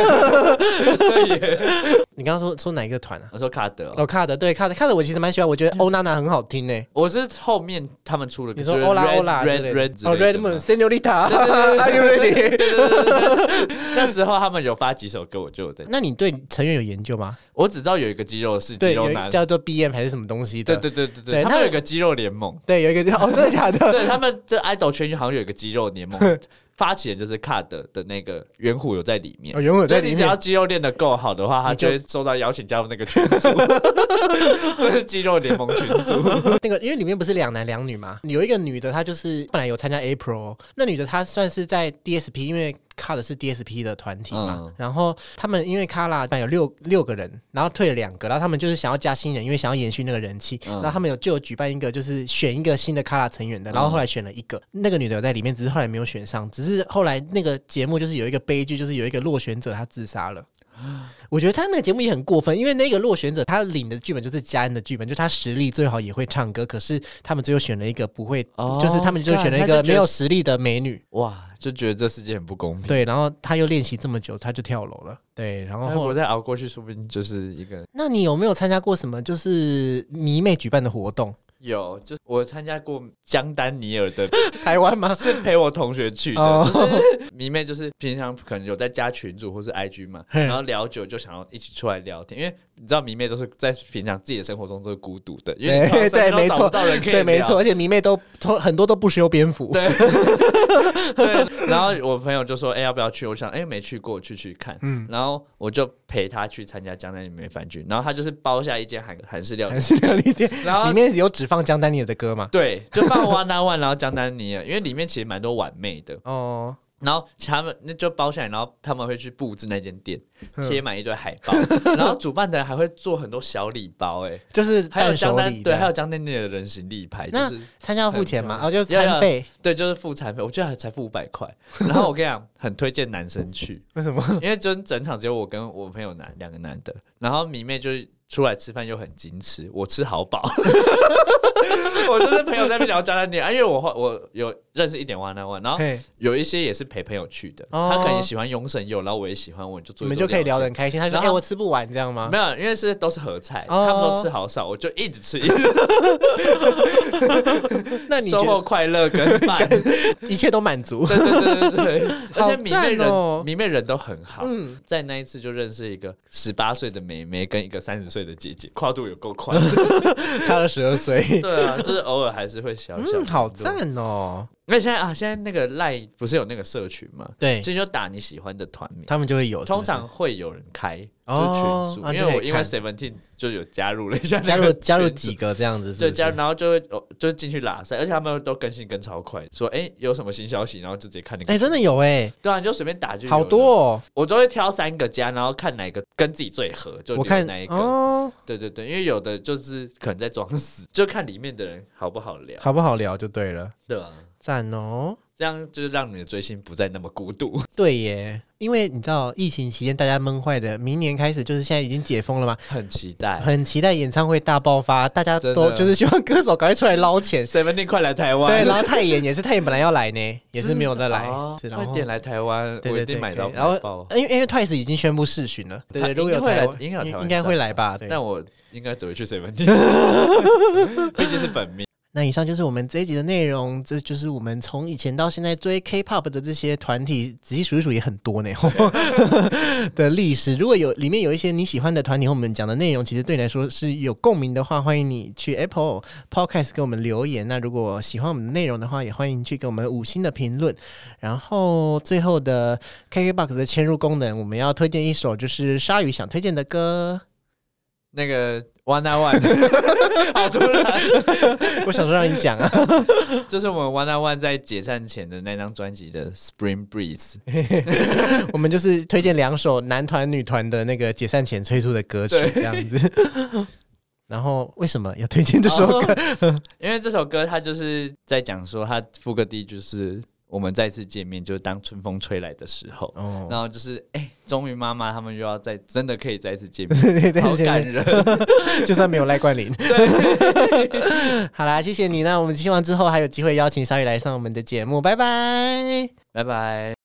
你刚刚说说哪一个团啊？ 我说卡德， 哦，卡德，对，卡德，卡德，我其实蛮喜欢，我觉得欧娜娜很好听呢。 我是后面他们出了， 你说欧拉欧拉 ，Red Red 哦 Red Moon，Señorita，Are you ready？ 那时候他们有发几首歌，我就有在。 那你对成员有研究吗？ 我只知道有一个肌肉是肌肉男， 叫做 B M 还是什么东西的？ 对对对对对，他们有一个肌肉联盟， 对，有一个哦，真的假的？ 对他们这 idol 圈好像有一个肌肉联盟。发起人就是 Card 的那个圆弧有在里面， 哦，圆弧有在里面。 你只要肌肉练得够好的话，他就会受到邀请加入那个圈组。 这是肌肉联盟群组。 那个因为里面不是两男两女嘛，有一个女的她就是本来有参加 April， 那女的她算是在 D S P， 因为卡的是 D S P 的团体嘛，嗯、然后他们因为卡拉有六六个人，然后退了两个，然后他们就是想要加新人，因为想要延续那个人气，嗯、然后他们有就有举办一个就是选一个新的卡拉成员的，然后后来选了一个，嗯、那个女的有在里面，只是后来没有选上，只是后来那个节目就是有一个悲剧，就是有一个落选者他自杀了。我觉得他那个节目也很过分，因为那个落选者他领的剧本就是嘉恩的剧本，就他实力最好也会唱歌，可是他们最后选了一个不会，哦、就是他们就选了一个没有实力的美女， 哇，就觉得这世界很不公平。 对，然后他又练习这么久，他就跳楼了。对，然后我再熬过去，说不定就是一个。 那你有没有参加过什么就是迷妹举办的活动？ 有，就是我参加过江丹尼尔的台湾吗？ 是陪我同学去的，哦、就是迷妹，就是平常可能有在加群组或是 I G 嘛，然后聊久就想要一起出来聊天，因为你知道迷妹都是在平常自己的生活中都是孤独的，因为你对没错，对没错，而且迷妹都很多都不修边幅， 对对。然后我朋友就说：“哎、欸，要不要去？”我想：“哎、欸，没去过，去去看。”嗯，然后我就陪他去参加江丹尼尔饭局，然后他就是包下一间韩韩式料理， 韩式料理店，然后里面有只放江丹尼尔的歌嘛？ 对，就放 One on One， 然后江丹尼尔，因为里面其实蛮多碗妹的哦。然后他们那就包下来，然后他们会去布置那间店，贴满一堆海报，然后主办的人还会做很多小礼包、欸，哎， 就是还有江丹对，还有江丹尼尔的人形立牌，就是参加要付钱嘛，哦，就是餐费， 对，就是付餐费，我觉得才付五百块。然后我跟你讲，很推荐男生去， 为什么？ 因为就整场只有我跟我朋友男两个男的，然后迷妹就是出来吃饭又很矜持，我吃好饱。我就是朋友在那边聊江丹尼尔，因为我我有认识一点 one on one， 然后有一些也是陪朋友去的，哦、他可能喜欢永神佑，然后我也喜欢，我就做一做， 你们就可以聊得很开心。他说：“哎、欸，我吃不完，这样吗？” 没有，因为是都是合菜，哦、他们都吃好少，我就一直吃，一直吃。 那你收获快乐跟饭， 一切都满足。 对对对对对，而且迷妹人、 哦、 迷妹人都很好。嗯，在那一次就认识一个十八岁的妹妹跟一个三十岁的姐姐，跨度有够宽， 差了十二岁。 对啊，就是偶尔还是会小小。 嗯，好赞哦！ 因为现在啊，现在那个赖不是有那个社群嘛？ 对， 所以就打你喜欢的团名， 他们就会有是不是， 通常会有人开就群组，因为我因为 Seventeen 就有加入了一下， 加入加入几个这样子是不是， 对，加入然后就会就进去拉塞，而且他们都更新更超快，说哎、欸、有什么新消息，然后就直接看那个， 哎、欸、真的有哎、欸， 对啊，你就随便打就有， 好多哦， 我都会挑三个加，然后看哪个跟自己最合，就留哪一个，哦、对对对，因为有的就是可能在装死，就看里面的人好不好聊， 好不好聊就对了， 对啊， 赞哦。 这样就是让你的追星不再那么孤独。 对耶，因为你知道疫情期间大家闷坏的，明年开始就是现在已经解封了嘛， 很期待， 很期待演唱会大爆发，大家都就是希望歌手赶快出来捞钱。 Seventeen 快来台湾， 对，然后泰妍也是，泰妍本来要来呢，也是没有再来， 哦、快点来台湾，我一定买到。 然后因为因为 Twice 已经宣布视讯了，对对，如果有台湾，应该应该会来吧？对， 但我应该只会去 Seventeen， 毕竟是本命。 那以上就是我们这一集的内容，这就是我们从以前到现在追 K-pop 的这些团体，仔细数一数也很多呢的历史。如果有里面有一些你喜欢的团体和我们讲的内容，其实对你来说是有共鸣的话，欢迎你去 Apple Podcast 给我们留言。那如果喜欢我们的内容的话，也欢迎去给我们五星的评论。然后最后的 K K B O X 的嵌入功能，我们要推荐一首就是鲨鱼想推荐的歌， 那个 One on One 好突然我想说让你讲啊就是我们 One on One 在解散前的那张专辑的 Spring Breeze 我们就是推荐两首男团女团的那个解散前推出的歌曲这样子然后为什么要推荐这首歌、 哦、因为这首歌它就是在讲说它副歌第一就是我们再次见面，就是当春风吹来的时候，哦、然后就是哎，终于妈妈他们又要再真的可以再次见面，对对对，好感人， 就算没有赖冠霖。好啦，谢谢你，那我们希望之后还有机会邀请鲨鱼来上我们的节目，拜拜， 拜拜。